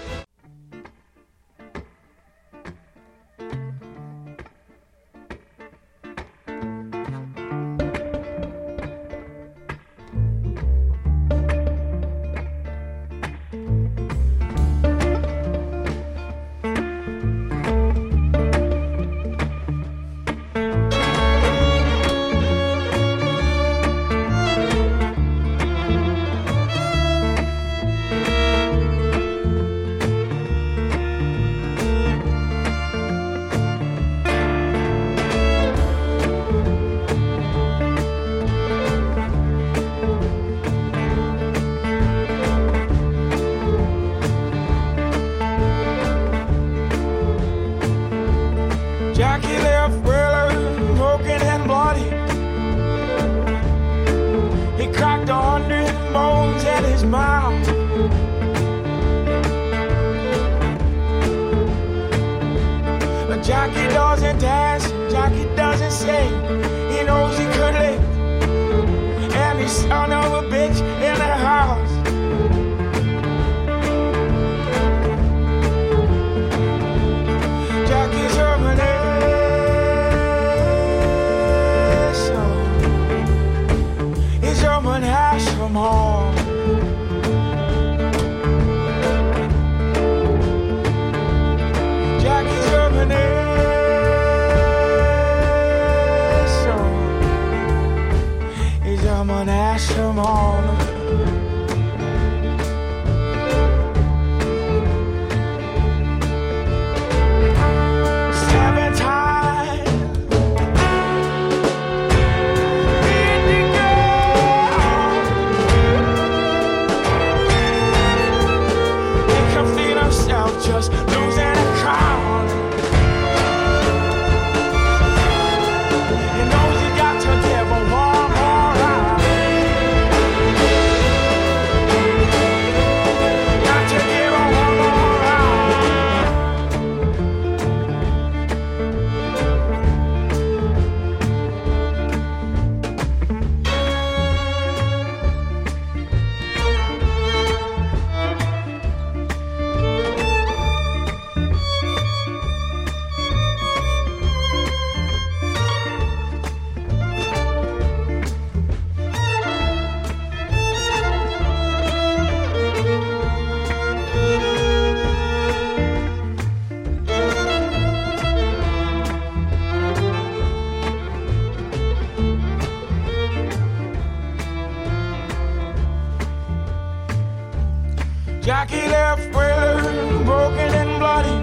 Jackie left well broken and bloody.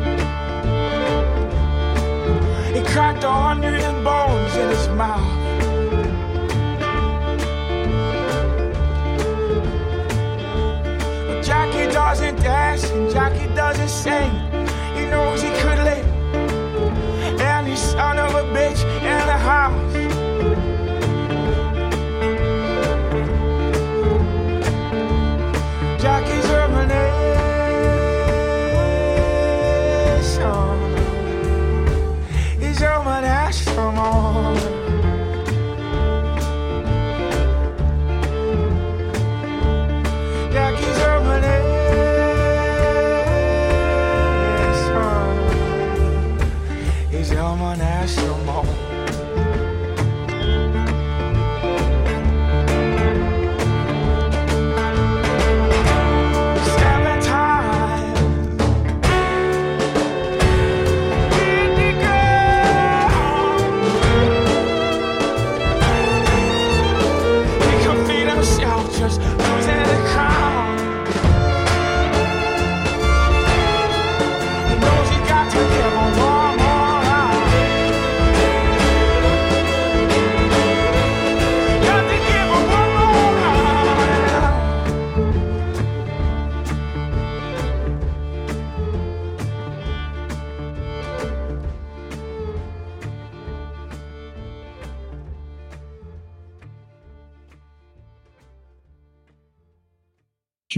He cracked 100 bones in his mouth. But Jackie doesn't dance and Jackie doesn't sing. He knows he could live, and he's son of a bitch in the house. Jackie's rumination is your ash from all. Jackie's rumination is your ash from all.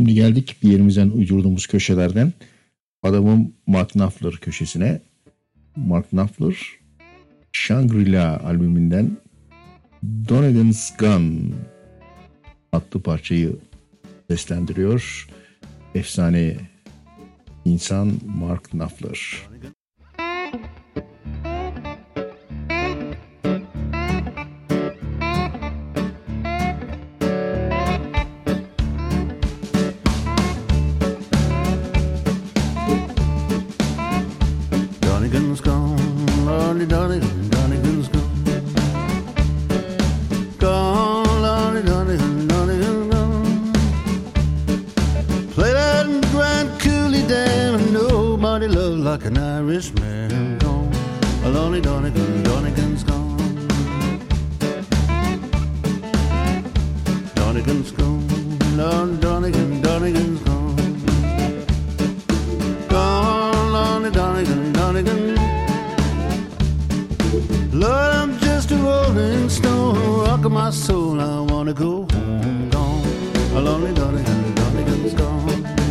Şimdi geldik bir yerimizden uydurduğumuz köşelerden adamın Mark Knopfler köşesine. Mark Knopfler Shangri-La albümünden Donegan's Gun adlı parçayı seslendiriyor. Efsane insan Mark Knopfler. Donegan's gone, Lordy Donegan, Donegan's gone. Gone, Lordy Donegan, Donegan's gone. Play that Grand Coulee Dam and nobody loved like an Irishman. Gone, Lordy Donegan, Donegan's gone. Donegan's gone, Lordy Donegan, Donegan's gone. Gone, Lordy Donegan, Donegan. Lord, I'm just a rolling stone, rocking my soul. I wanna go home. Gone, a lonely Donegan, Donegan's gone.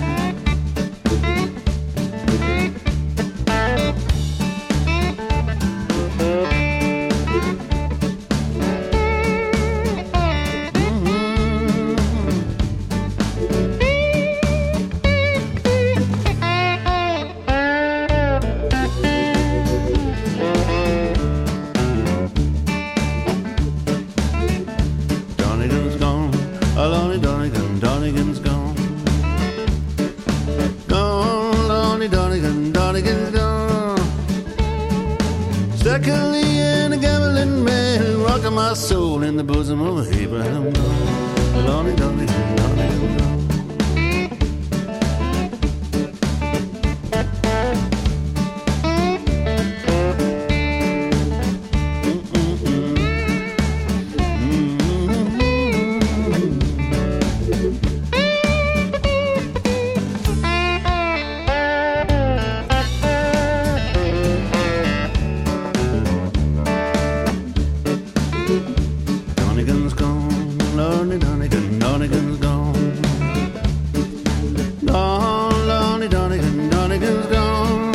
Donegan's gone, a lonely Donegan, Donegan's gone. Gone, lonely Donegan, Donegan's gone. Steckily and a gambling man, rocking my soul in the bosom of Abraham. Gone, a lonely Donegan, Donegan's gone. Donegan's gone, lonely Donegan, Donegan's gone. Gone, lonely Donegan, Donegan's gone.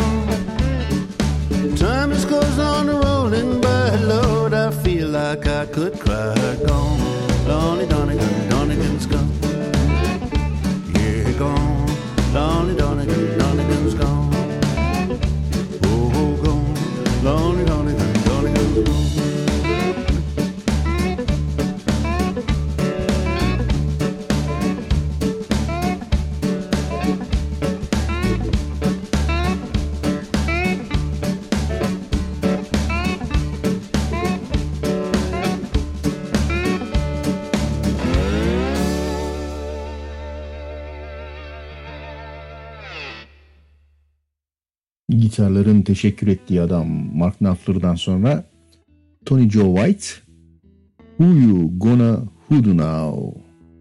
Time just goes on rolling by, Lord, I feel like I could cry. Gone, lonely Donegan, Donegan's gone. Yeah, gone, lonely Donegan, Donegan's gone. Oh, gone, lonely Donegan, Donegan's gone. Gitarların teşekkür ettiği adam Mark Knopfler'dan sonra Tony Joe White, Who You Gonna Hoodoo Now?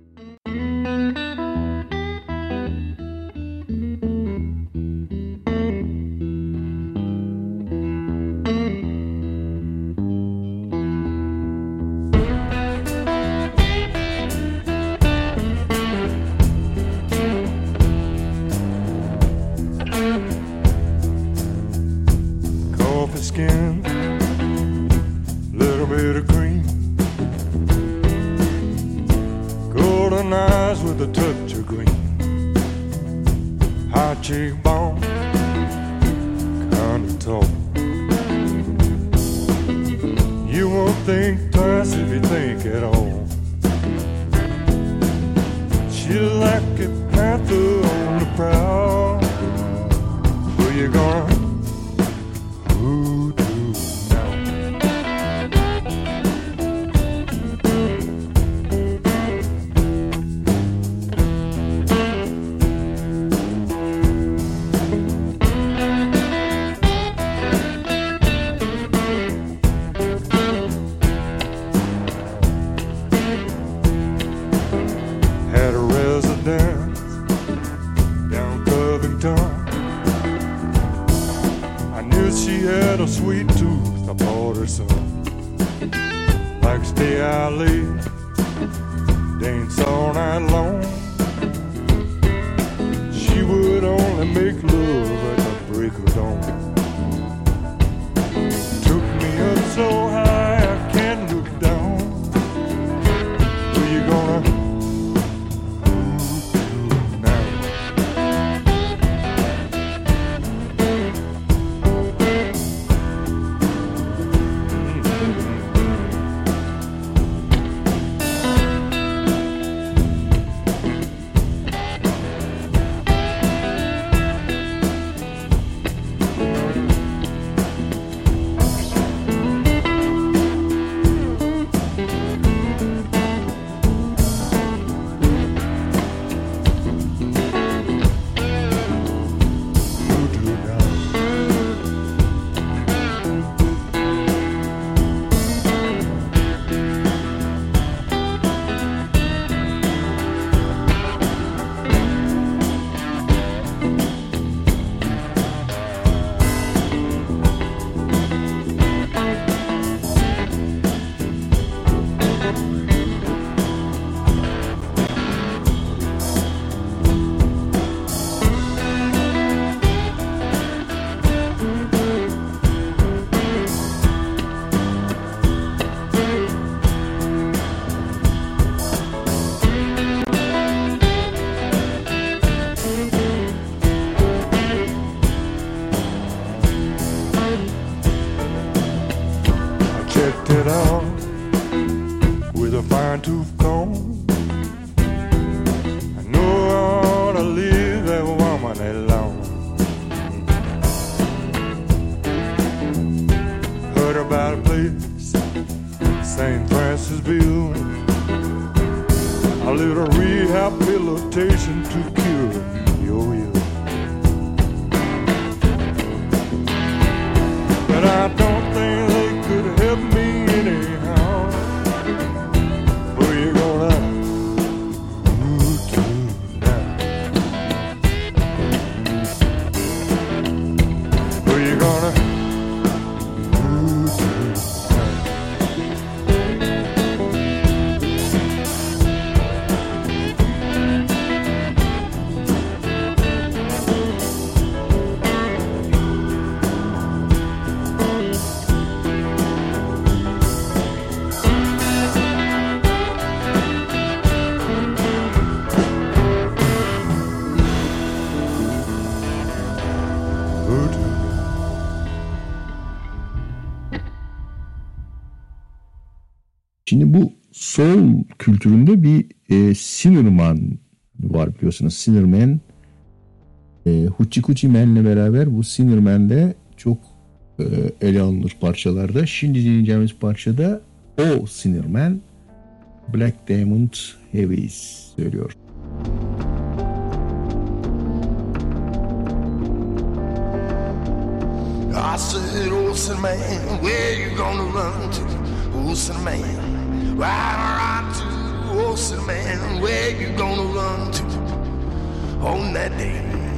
Coffee skin, little bit of cream, golden eyes with a touch of green, high cheekbone, kind of tall. You won't think twice if you think at all. She like a panther on the prowl. Who you gonna hoodoo now? Had a residence down Covington. I knew she had a sweet tooth. I bought her some. Like to stay out late, dance all night long. and make love at the break of dawn. Took me up so high I can't look down. Where you gonna checked it out with a fine-tooth comb. I know I ought to leave that woman alone. Heard about a place, St. Francisville, a little rehabilitation to cure your ill. But I don't think they could help me anyhow. Where you gonna move to now? Where you gonna move to Şimdi bu soul kültüründe bir Sinnerman var biliyorsunuz. Sinnerman Hoochie Coochie Man'le beraber bu Sinnerman'de çok ele alınır parçalarda. Şimdi dinleyeceğimiz parçada o Sinnerman Black Diamond Heavies söylüyor. I said, oh, Sinnerman, where you gonna run to? Oh, Sinnerman, right to, oh, Sinnerman, where you gonna run to on that day?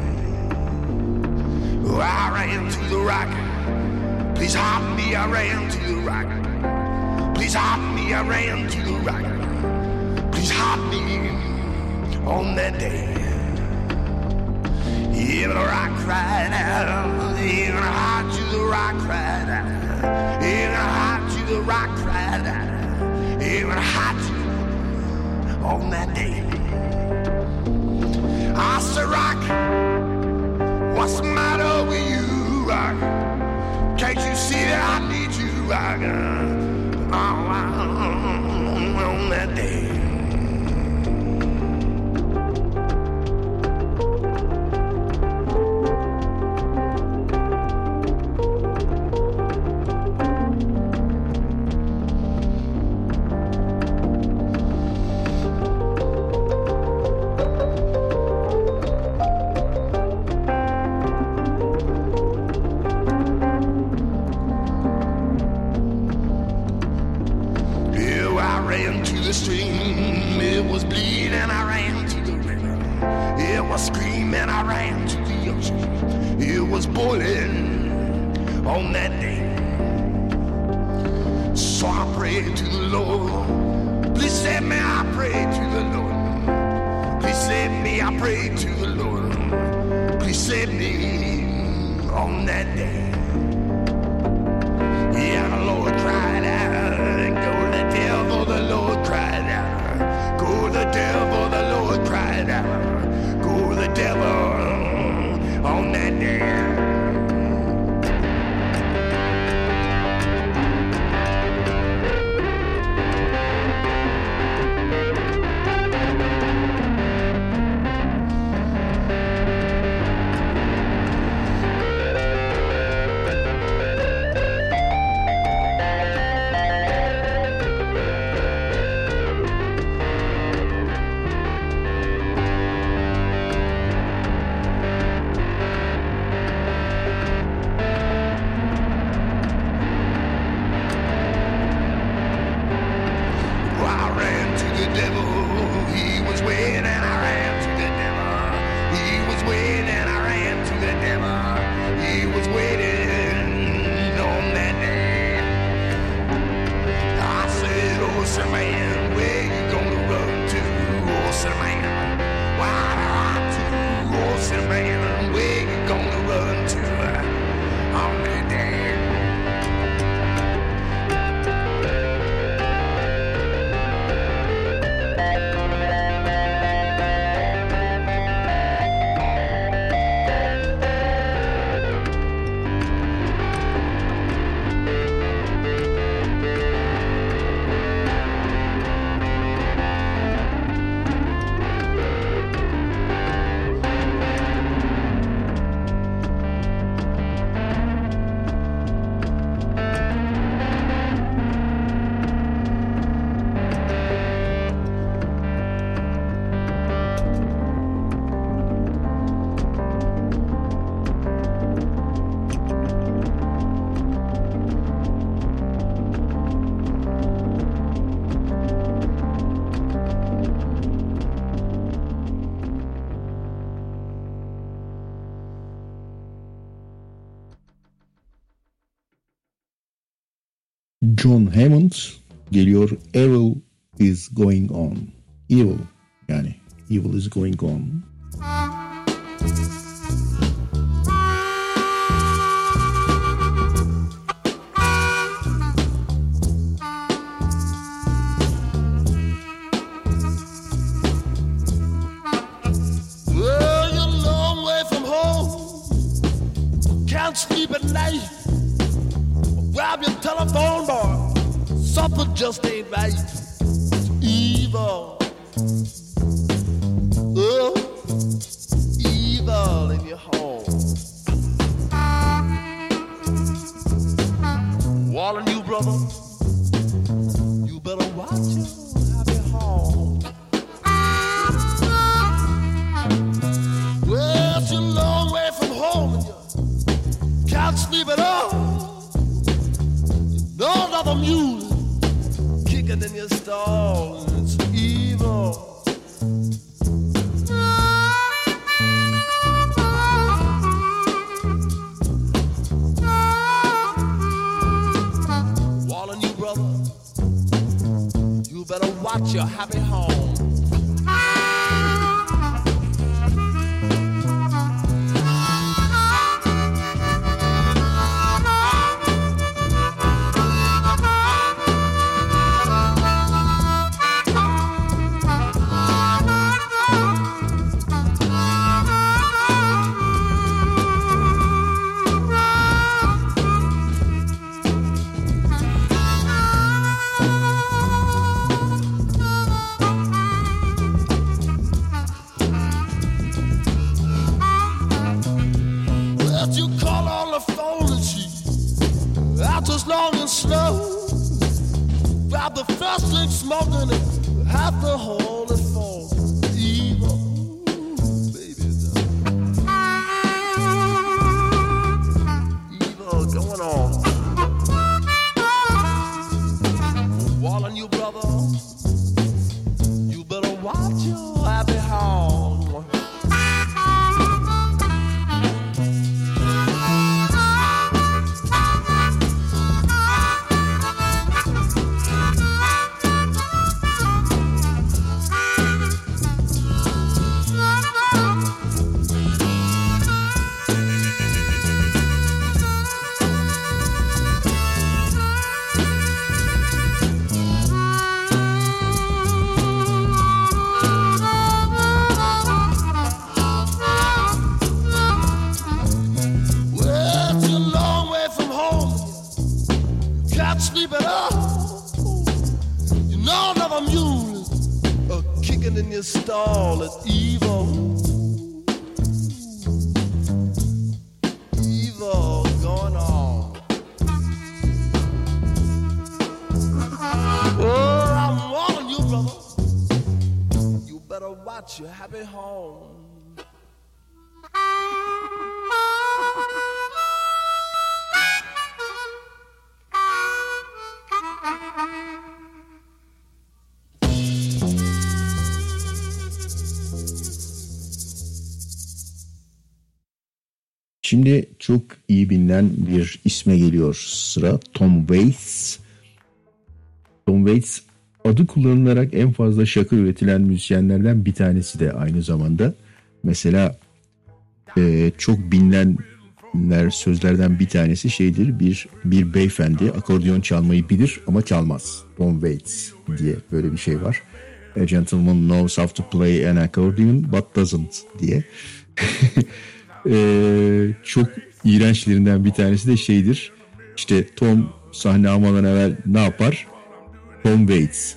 Oh, I ran to the rock. Please help me, I ran to the rock. Please help me, I ran to the rock. Please help me on that day. Even the rock cried out, even hot to the rock cried out, even hot to the rock cried out, even hot on that day. I said, rock, what's the matter with you, rock? Can't you see that I need you, rock? On that day. Please save on that day. Yeah, the Lord cried out, go the devil, the Lord cried out. Go the devil, the Lord cried out. Go the devil on that day. John Hammond geliyor. Evil is going on. Evil yani evil is going on. Well, you're a long way from home. Can't sleep at night. Grab your telephone, boy. Something just ain't right. It's evil. Oh, evil in your home. Warning you, brother. You better watch your happy home. Well, it's a long way from home and you can't sleep at all. No other music kicking in your stall. It's evil. Warning you, brother, you better watch your happy home. The first thing smoking it, half the whole is full. Evil, baby. Evil going on. Warning you, brother, you better watch your happy home. in your stall at evil. Evil going on. Oh, I'm warning you, brother. You better watch your happy home. Şimdi çok iyi bilinen bir isme geliyor sıra. Tom Waits. Tom Waits adı kullanılarak en fazla şarkı üretilen müzisyenlerden bir tanesi de aynı zamanda. Mesela çok bilinenler sözlerden bir tanesi şeydir. Bir beyefendi akordeon çalmayı bilir ama çalmaz. Tom Waits diye böyle bir şey var. A gentleman knows how to play an accordion but doesn't diye. Çok iğrençlerinden bir tanesi de şeydir. İşte Tom sahne almadan evvel ne yapar? Tom Waits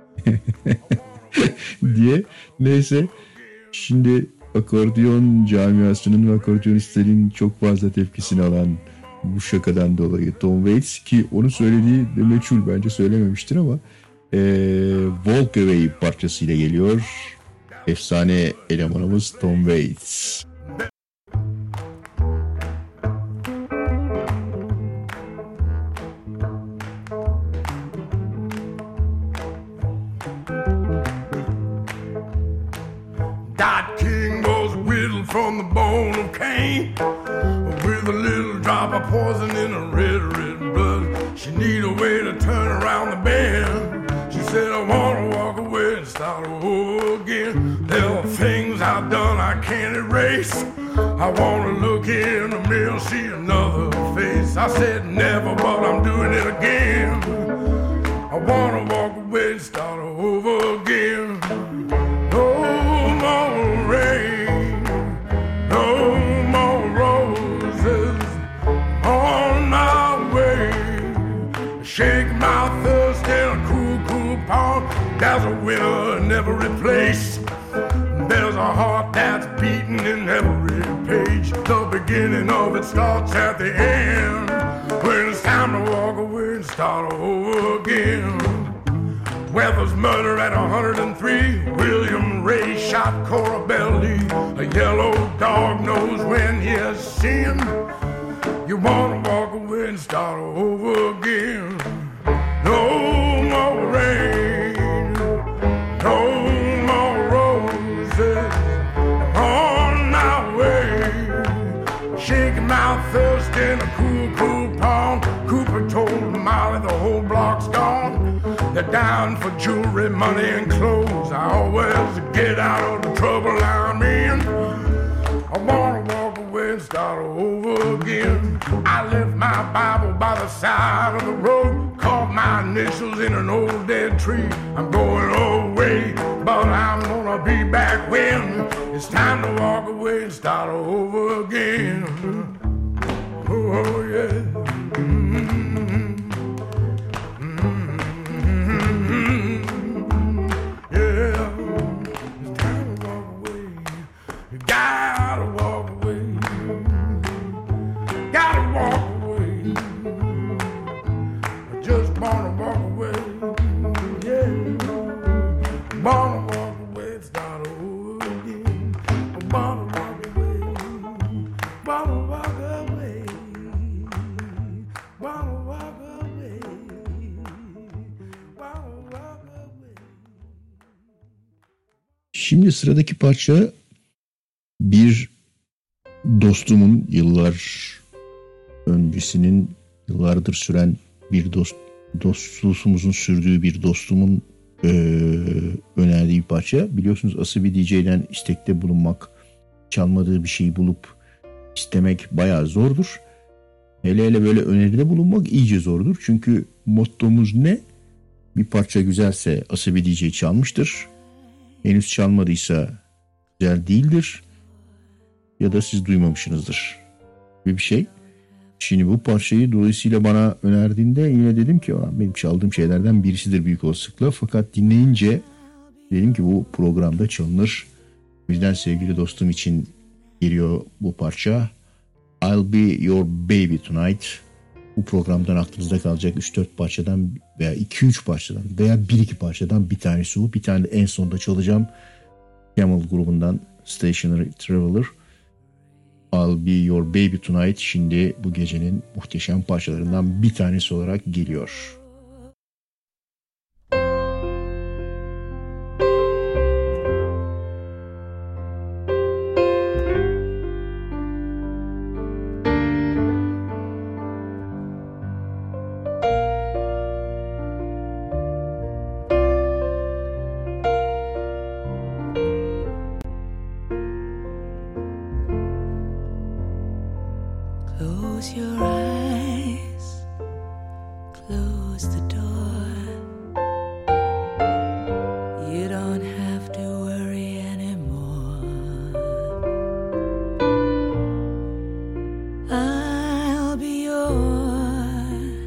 diye. Neyse, şimdi akordeon camiasının ve akordeonistlerin çok fazla tepkisini alan bu şakadan dolayı Tom Waits, ki onu söylediği de meçhul, bence söylememiştir ama Walk Away parçasıyla geliyor. Efsane elemanımız Tom Waits. From the bone of Cain, with a little drop of poison in her red, red blood. She need a way to turn around the bend. She said, I want to walk away and start over again. There are things I've done I can't erase. I want to look in the mirror, see another face. I said never, but I'm doing it again. I want to walk away and start over again. No more rain, no more roses on my way. Shake my thirst in a cool, cool pond. There's a winner in every place. There's a heart that's beating in every page. The beginning of it starts at the end, when it's time to walk away and start over again. Weather's murder at 103. William Ray shot Cora Belly. A yellow dog knows when he's seen. You wanna walk away and start over again. No more rain, no more roses on my way. Shaking my thirst in a cool, cool pond. Cooper told Molly the whole block's gone. They're down for jewelry, money, and clothes. I always get out of the trouble I'm in. I wanna walk away and start over again. I left my Bible by the side of the road, carved my initials in an old dead tree. I'm going away, but I'm gonna be back when it's time to walk away and start over again. Oh yeah. Gotta walk away. Gotta walk away. I just wanna walk away. Yeah. Wanna walk away, start over again. I wanna walk away. Wanna walk away. Wanna walk away. Wanna walk away. Şimdi sıradaki parça bir dostumun, yıllar öncesinin, yıllardır süren bir dostluğumuzun sürdüğü bir dostumun önerdiği bir parça. Biliyorsunuz Asabi DJ'den istekte bulunmak, çalmadığı bir şeyi bulup istemek bayağı zordur. Hele hele böyle öneride bulunmak iyice zordur. Çünkü mottomuz ne? Bir parça güzelse Asabi DJ çalmıştır. Henüz çalmadıysa güzel değildir. Ya da siz duymamışsınızdır gibi bir şey. Şimdi bu parçayı dolayısıyla bana önerdiğinde yine dedim ki benim çaldığım şeylerden birisidir büyük olasılıkla. Fakat dinleyince Dedim ki bu programda çalınır. O yüzden sevgili dostum için geliyor bu parça. I'll Be Your Baby Tonight. Bu programdan aklınızda kalacak 3-4 parçadan veya 2-3 parçadan veya 1-2 parçadan bir tanesi bu. Bir tane de en sonda çalacağım. Camel grubundan Stationary Traveler. I'll Be Your Baby Tonight şimdi bu gecenin muhteşem parçalarından bir tanesi olarak geliyor. Close your eyes, close the door. You don't have to worry anymore. I'll be your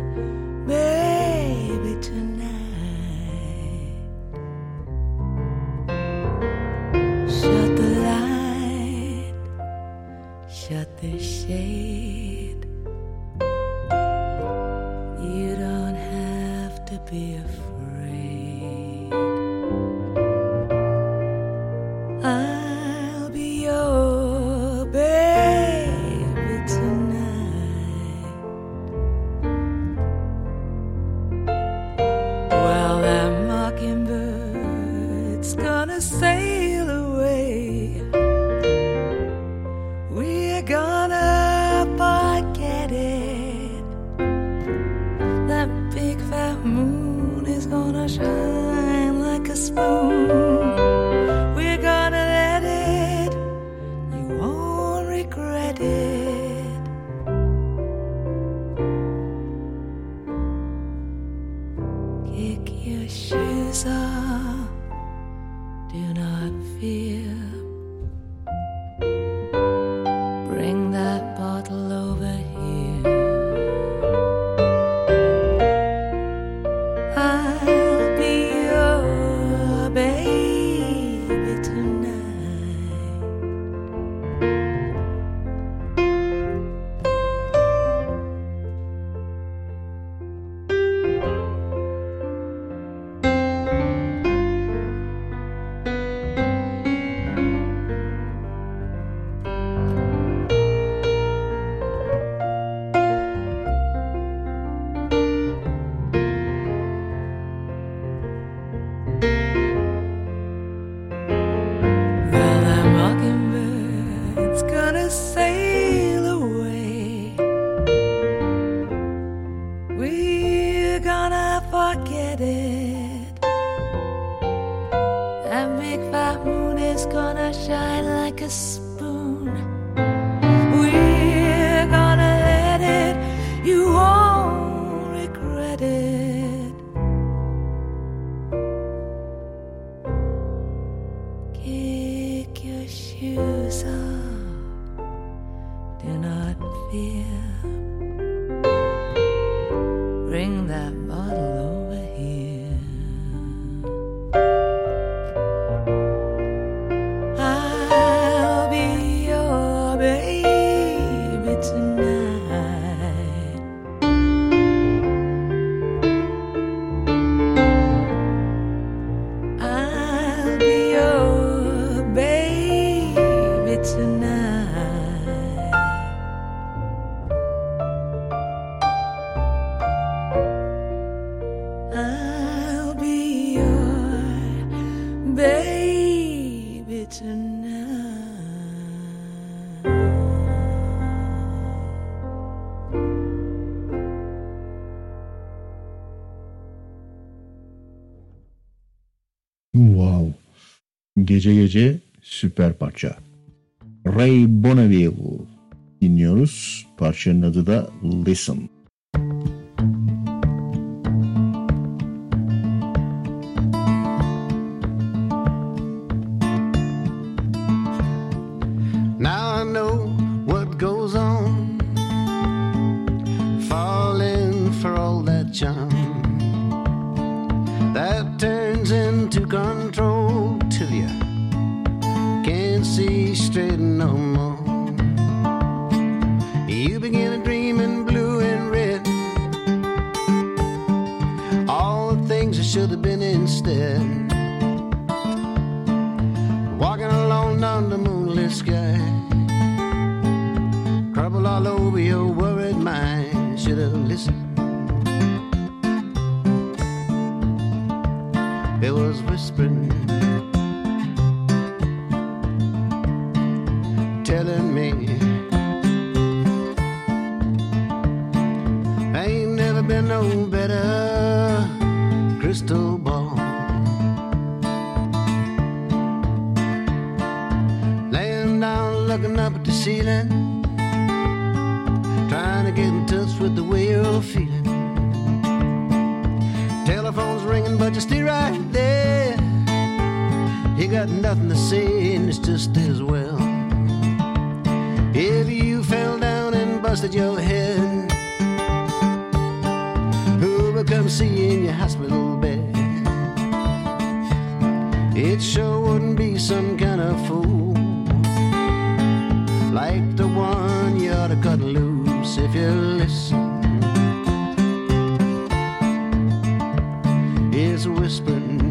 baby tonight. Shut the light, shut the shade. You don't have to be afraid. I'll be your baby tonight. Well, that mockingbird's gonna sail away. We're gonna forget it. That big fat moon is gonna shine like a spoon. We're gonna let it. You won't regret it. Kick your shoes off. Do not fear. Bring that bottle over here. I'll be your baby tonight. Well, that mockingbird's gonna sail away. We're gonna forget it. That big fat moon is gonna shine like a spoon. We're gonna let it. You won't regret it. Kick your shoes off. Do not fear. Bring that bottle over here. I'll be your baby tonight. I'll be your baby tonight. I'll be your baby tonight. Wow. Gece gece süper parça. Ray Bonneville dinliyoruz. Parçanın adı da Listen. Now I know what goes on, falling for all that charm that turns into control. listen. It was whispering, telling me I ain't never been no better. Crystal ball, laying down looking up at the ceiling, trying to get in touch with the way you're feeling. Telephone's ringing but you stay right there. You got nothing to say and it's just as well. If you fell down and busted your head, who will come see you in your hospital bed? It sure wouldn't be some kind of fool like the one you ought to cut loose if you listen. It's whispering,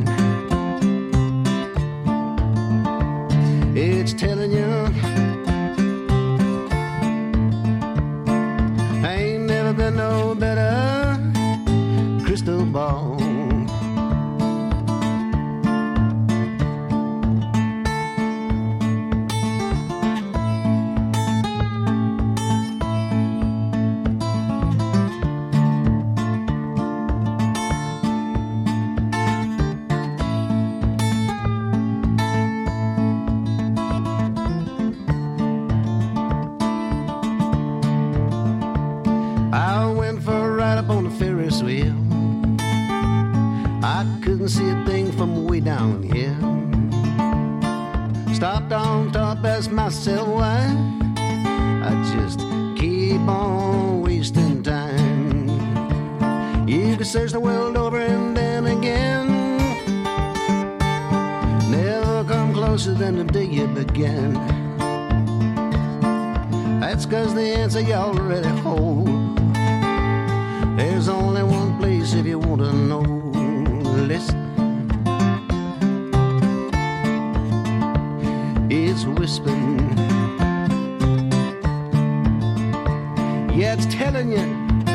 it's telling you I ain't never been no better. Crystal ball, I went for a ride up on the Ferris wheel. I couldn't see a thing from way down here. Stopped on top, asked myself why. I just keep on wasting time. You could search the world over and then again, never come closer than the day you began. That's 'cause the answer you already hold. There's only one place if you want to know. Listen, it's whispering. Yeah, it's telling you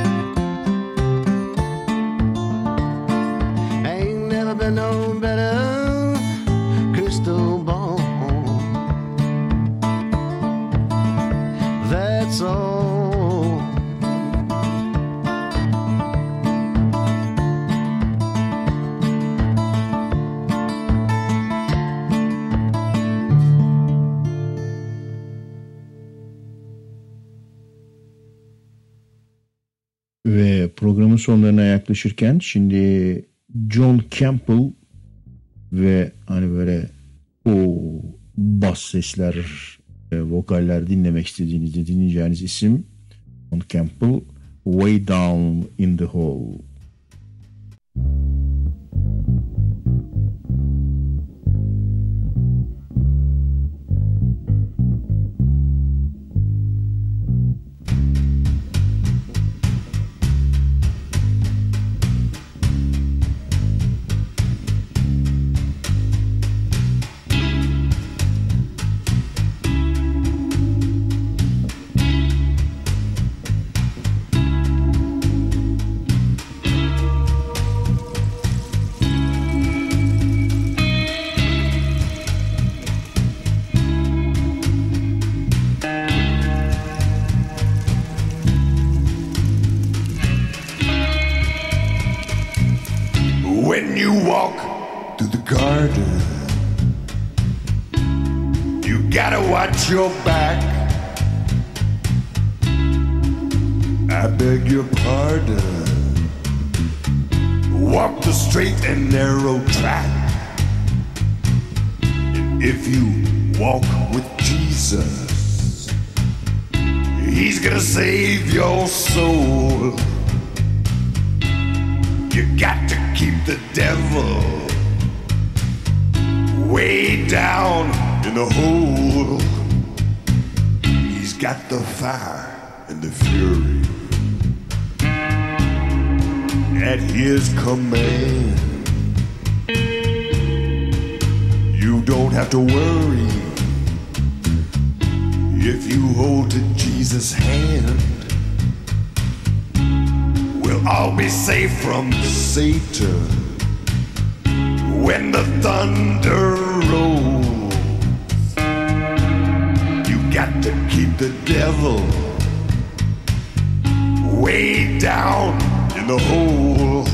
ain't never been no better. Crystal ball, that's all. Ve programın sonlarına yaklaşırken şimdi John Campbell ve hani böyle o bas sesler, vokaller dinlemek istediğinizde dinleyeceğiniz isim John Campbell, Way Down in the Hole. When you walk through the garden, you gotta watch your back. I beg your pardon. Walk the straight and narrow track. If you walk with Jesus, He's gonna save your soul. You got to keep the devil way down in the hole. He's got the fire and the fury at his command. You don't have to worry if you hold to Jesus' hand. we'll all be safe from Satan when the thunder rolls. You got to keep the devil way down in the hole.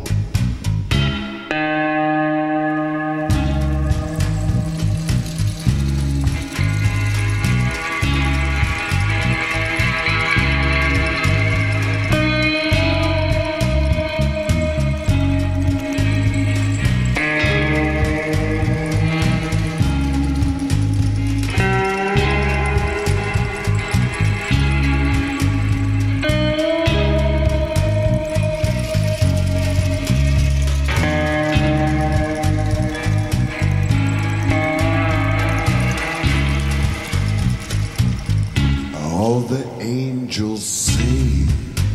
All the angels sing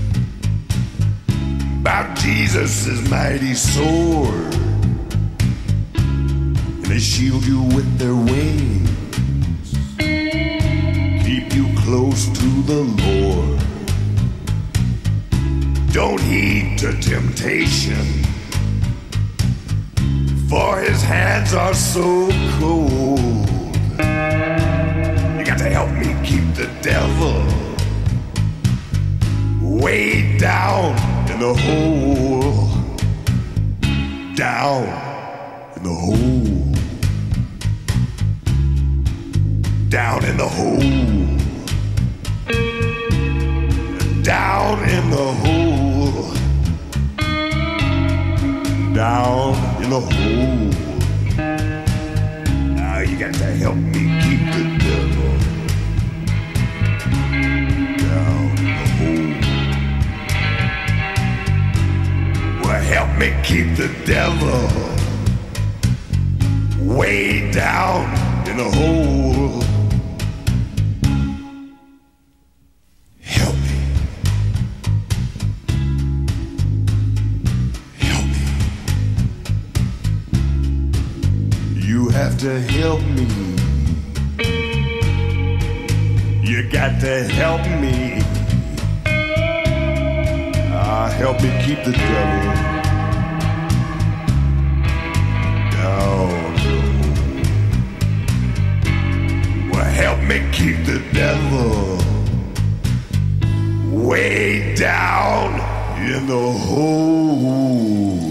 about Jesus' mighty sword, and they shield you with their wings, keep you close to the Lord. Don't heed to temptation, for his hands are so cold. You got to help me keep the devil way down in the hole. Down in the hole. Down in the hole. Down in the hole. Down in the hole. Now you got to help me keep the devil down in the hole. Well, help me keep the devil way down in the hole. Help me. Help me. You have to help me. You got to help me. Help me keep the devil down. Well, help me keep the devil way down in the hole.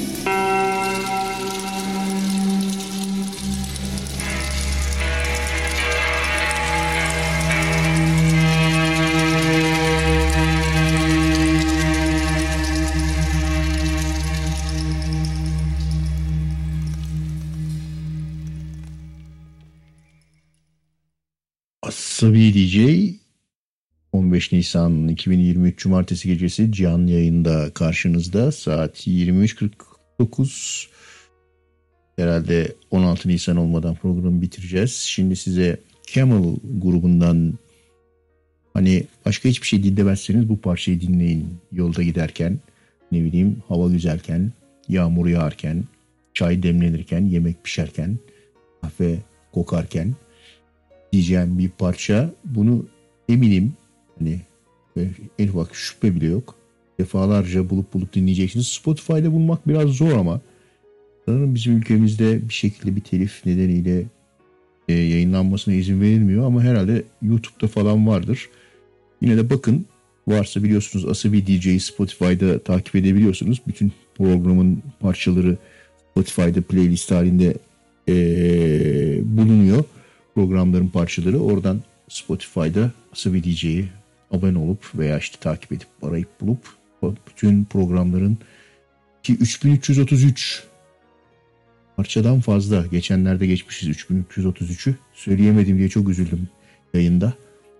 Asabi DJ 15 Nisan 2023 Cumartesi gecesi canlı yayında karşınızda. Saat 23.49. Herhalde 16 Nisan olmadan programı bitireceğiz. Şimdi size Camel grubundan, hani başka hiçbir şey dinlemezseniz bu parçayı dinleyin. Yolda giderken, ne bileyim hava güzelken, yağmur yağarken, çay demlenirken, yemek pişerken, kahve kokarken diyeceğim bir parça. Bunu eminim, hani en ufak şüphe bile yok, defalarca bulup dinleyeceksiniz. Spotify'da bulmak biraz zor ama sanırım bizim ülkemizde bir şekilde bir telif nedeniyle yayınlanmasına izin verilmiyor ama herhalde YouTube'da falan vardır. Yine de bakın, varsa biliyorsunuz Asabi DJ'yi Spotify'da takip edebiliyorsunuz. Bütün programın parçaları Spotify'da playlist halinde bulunuyor. Programların parçaları oradan Spotify'da Asabi DJ'yi abone olup veya işte takip edip arayıp bulup bütün programların, ki 3333 parçadan fazla, geçenlerde geçmişiz 3333'ü, söyleyemedim diye çok üzüldüm yayında.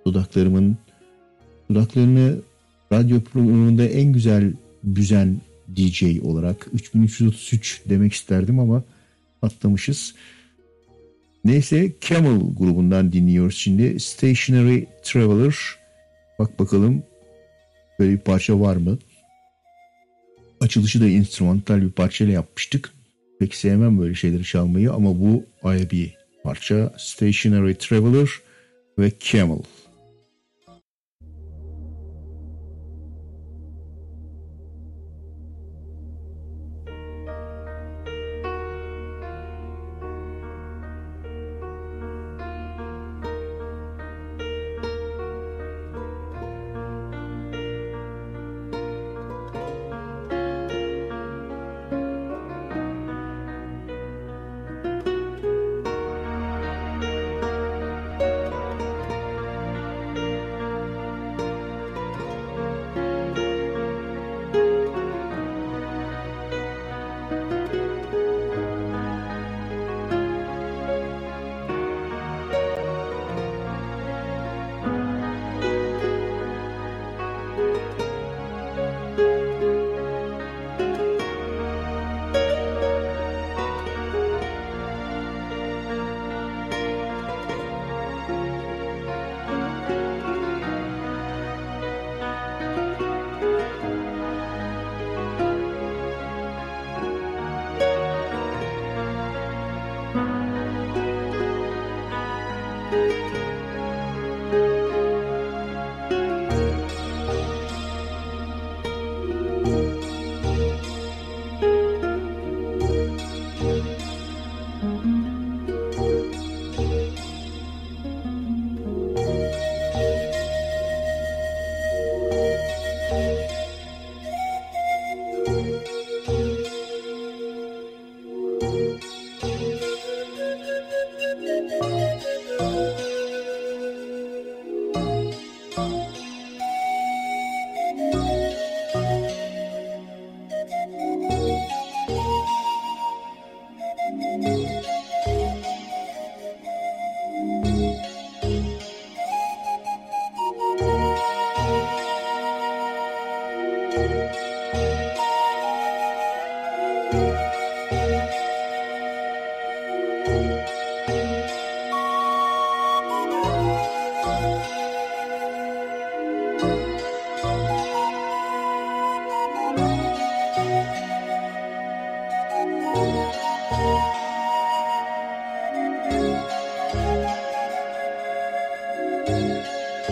Dudaklarını radyo programında en güzel büzen DJ olarak 3333 demek isterdim ama atlamışız. Neyse, Camel grubundan dinliyoruz şimdi. Stationary Traveler. Bak bakalım böyle bir parça var mı? Açılışı da instrumental bir parçayla yapmıştık. Pek sevmem böyle şeyleri çalmayı ama bu ayrı bir parça. Stationary Traveler ve Camel.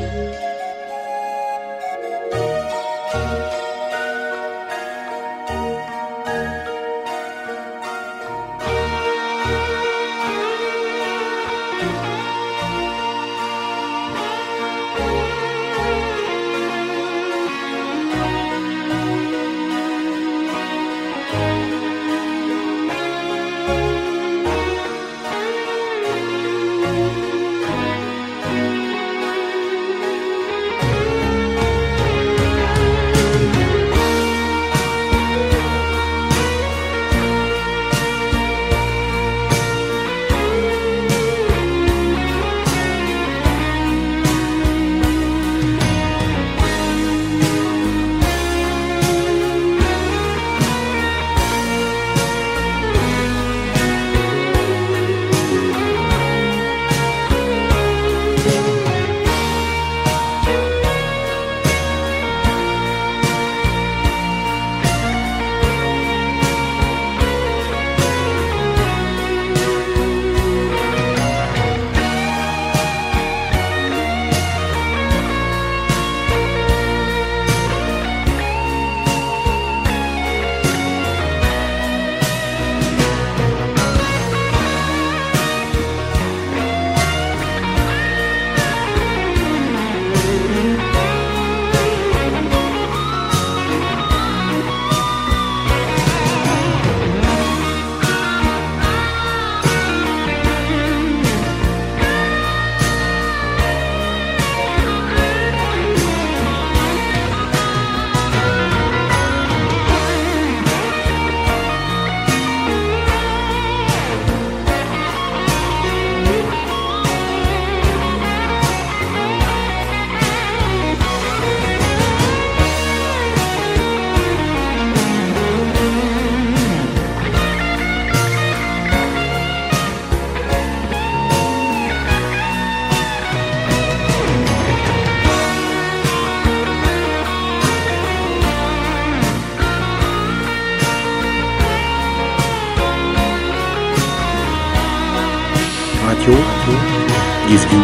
Gezgin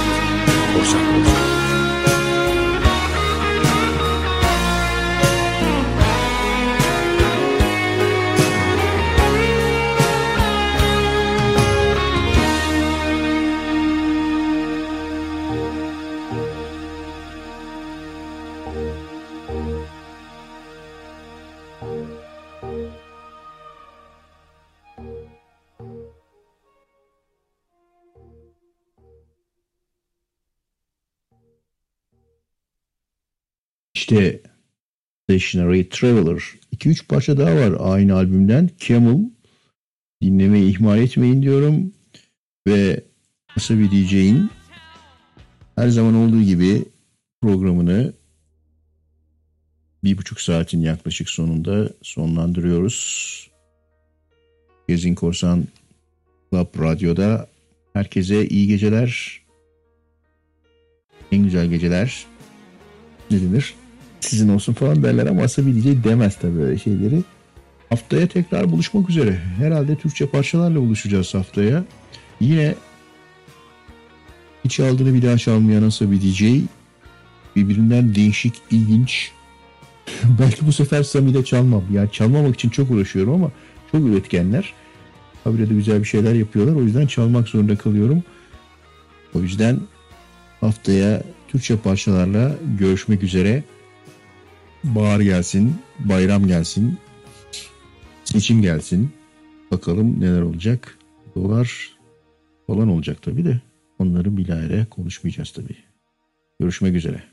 Korsan. İşte Stationary Traveler. 2-3 parça daha var aynı albümden. Camel. Dinlemeyi ihmal etmeyin diyorum. Ve Wasabi DJ'in her zaman olduğu gibi programını 1,5 saatin yaklaşık sonunda sonlandırıyoruz. Gezgin Korsan Club Radyo'da herkese iyi geceler. En güzel geceler. Ne denir? Sizin olsun falan derler ama Wasabi DJ demez tabii böyle şeyleri. Haftaya tekrar buluşmak üzere. Herhalde Türkçe parçalarla buluşacağız haftaya. Yine hiç aldığını bir daha çalmayan Wasabi DJ, birbirinden değişik, ilginç. Belki bu sefer Sami'de çalmam. Yani çalmamak için çok uğraşıyorum ama çok üretkenler. Habire de güzel bir şeyler yapıyorlar. O yüzden çalmak zorunda kalıyorum. O yüzden haftaya Türkçe parçalarla görüşmek üzere. Bahar gelsin, bayram gelsin, seçim gelsin. Bakalım neler olacak. Dolar falan olacak tabii de. Onları bilahare konuşmayacağız tabii. Görüşmek üzere.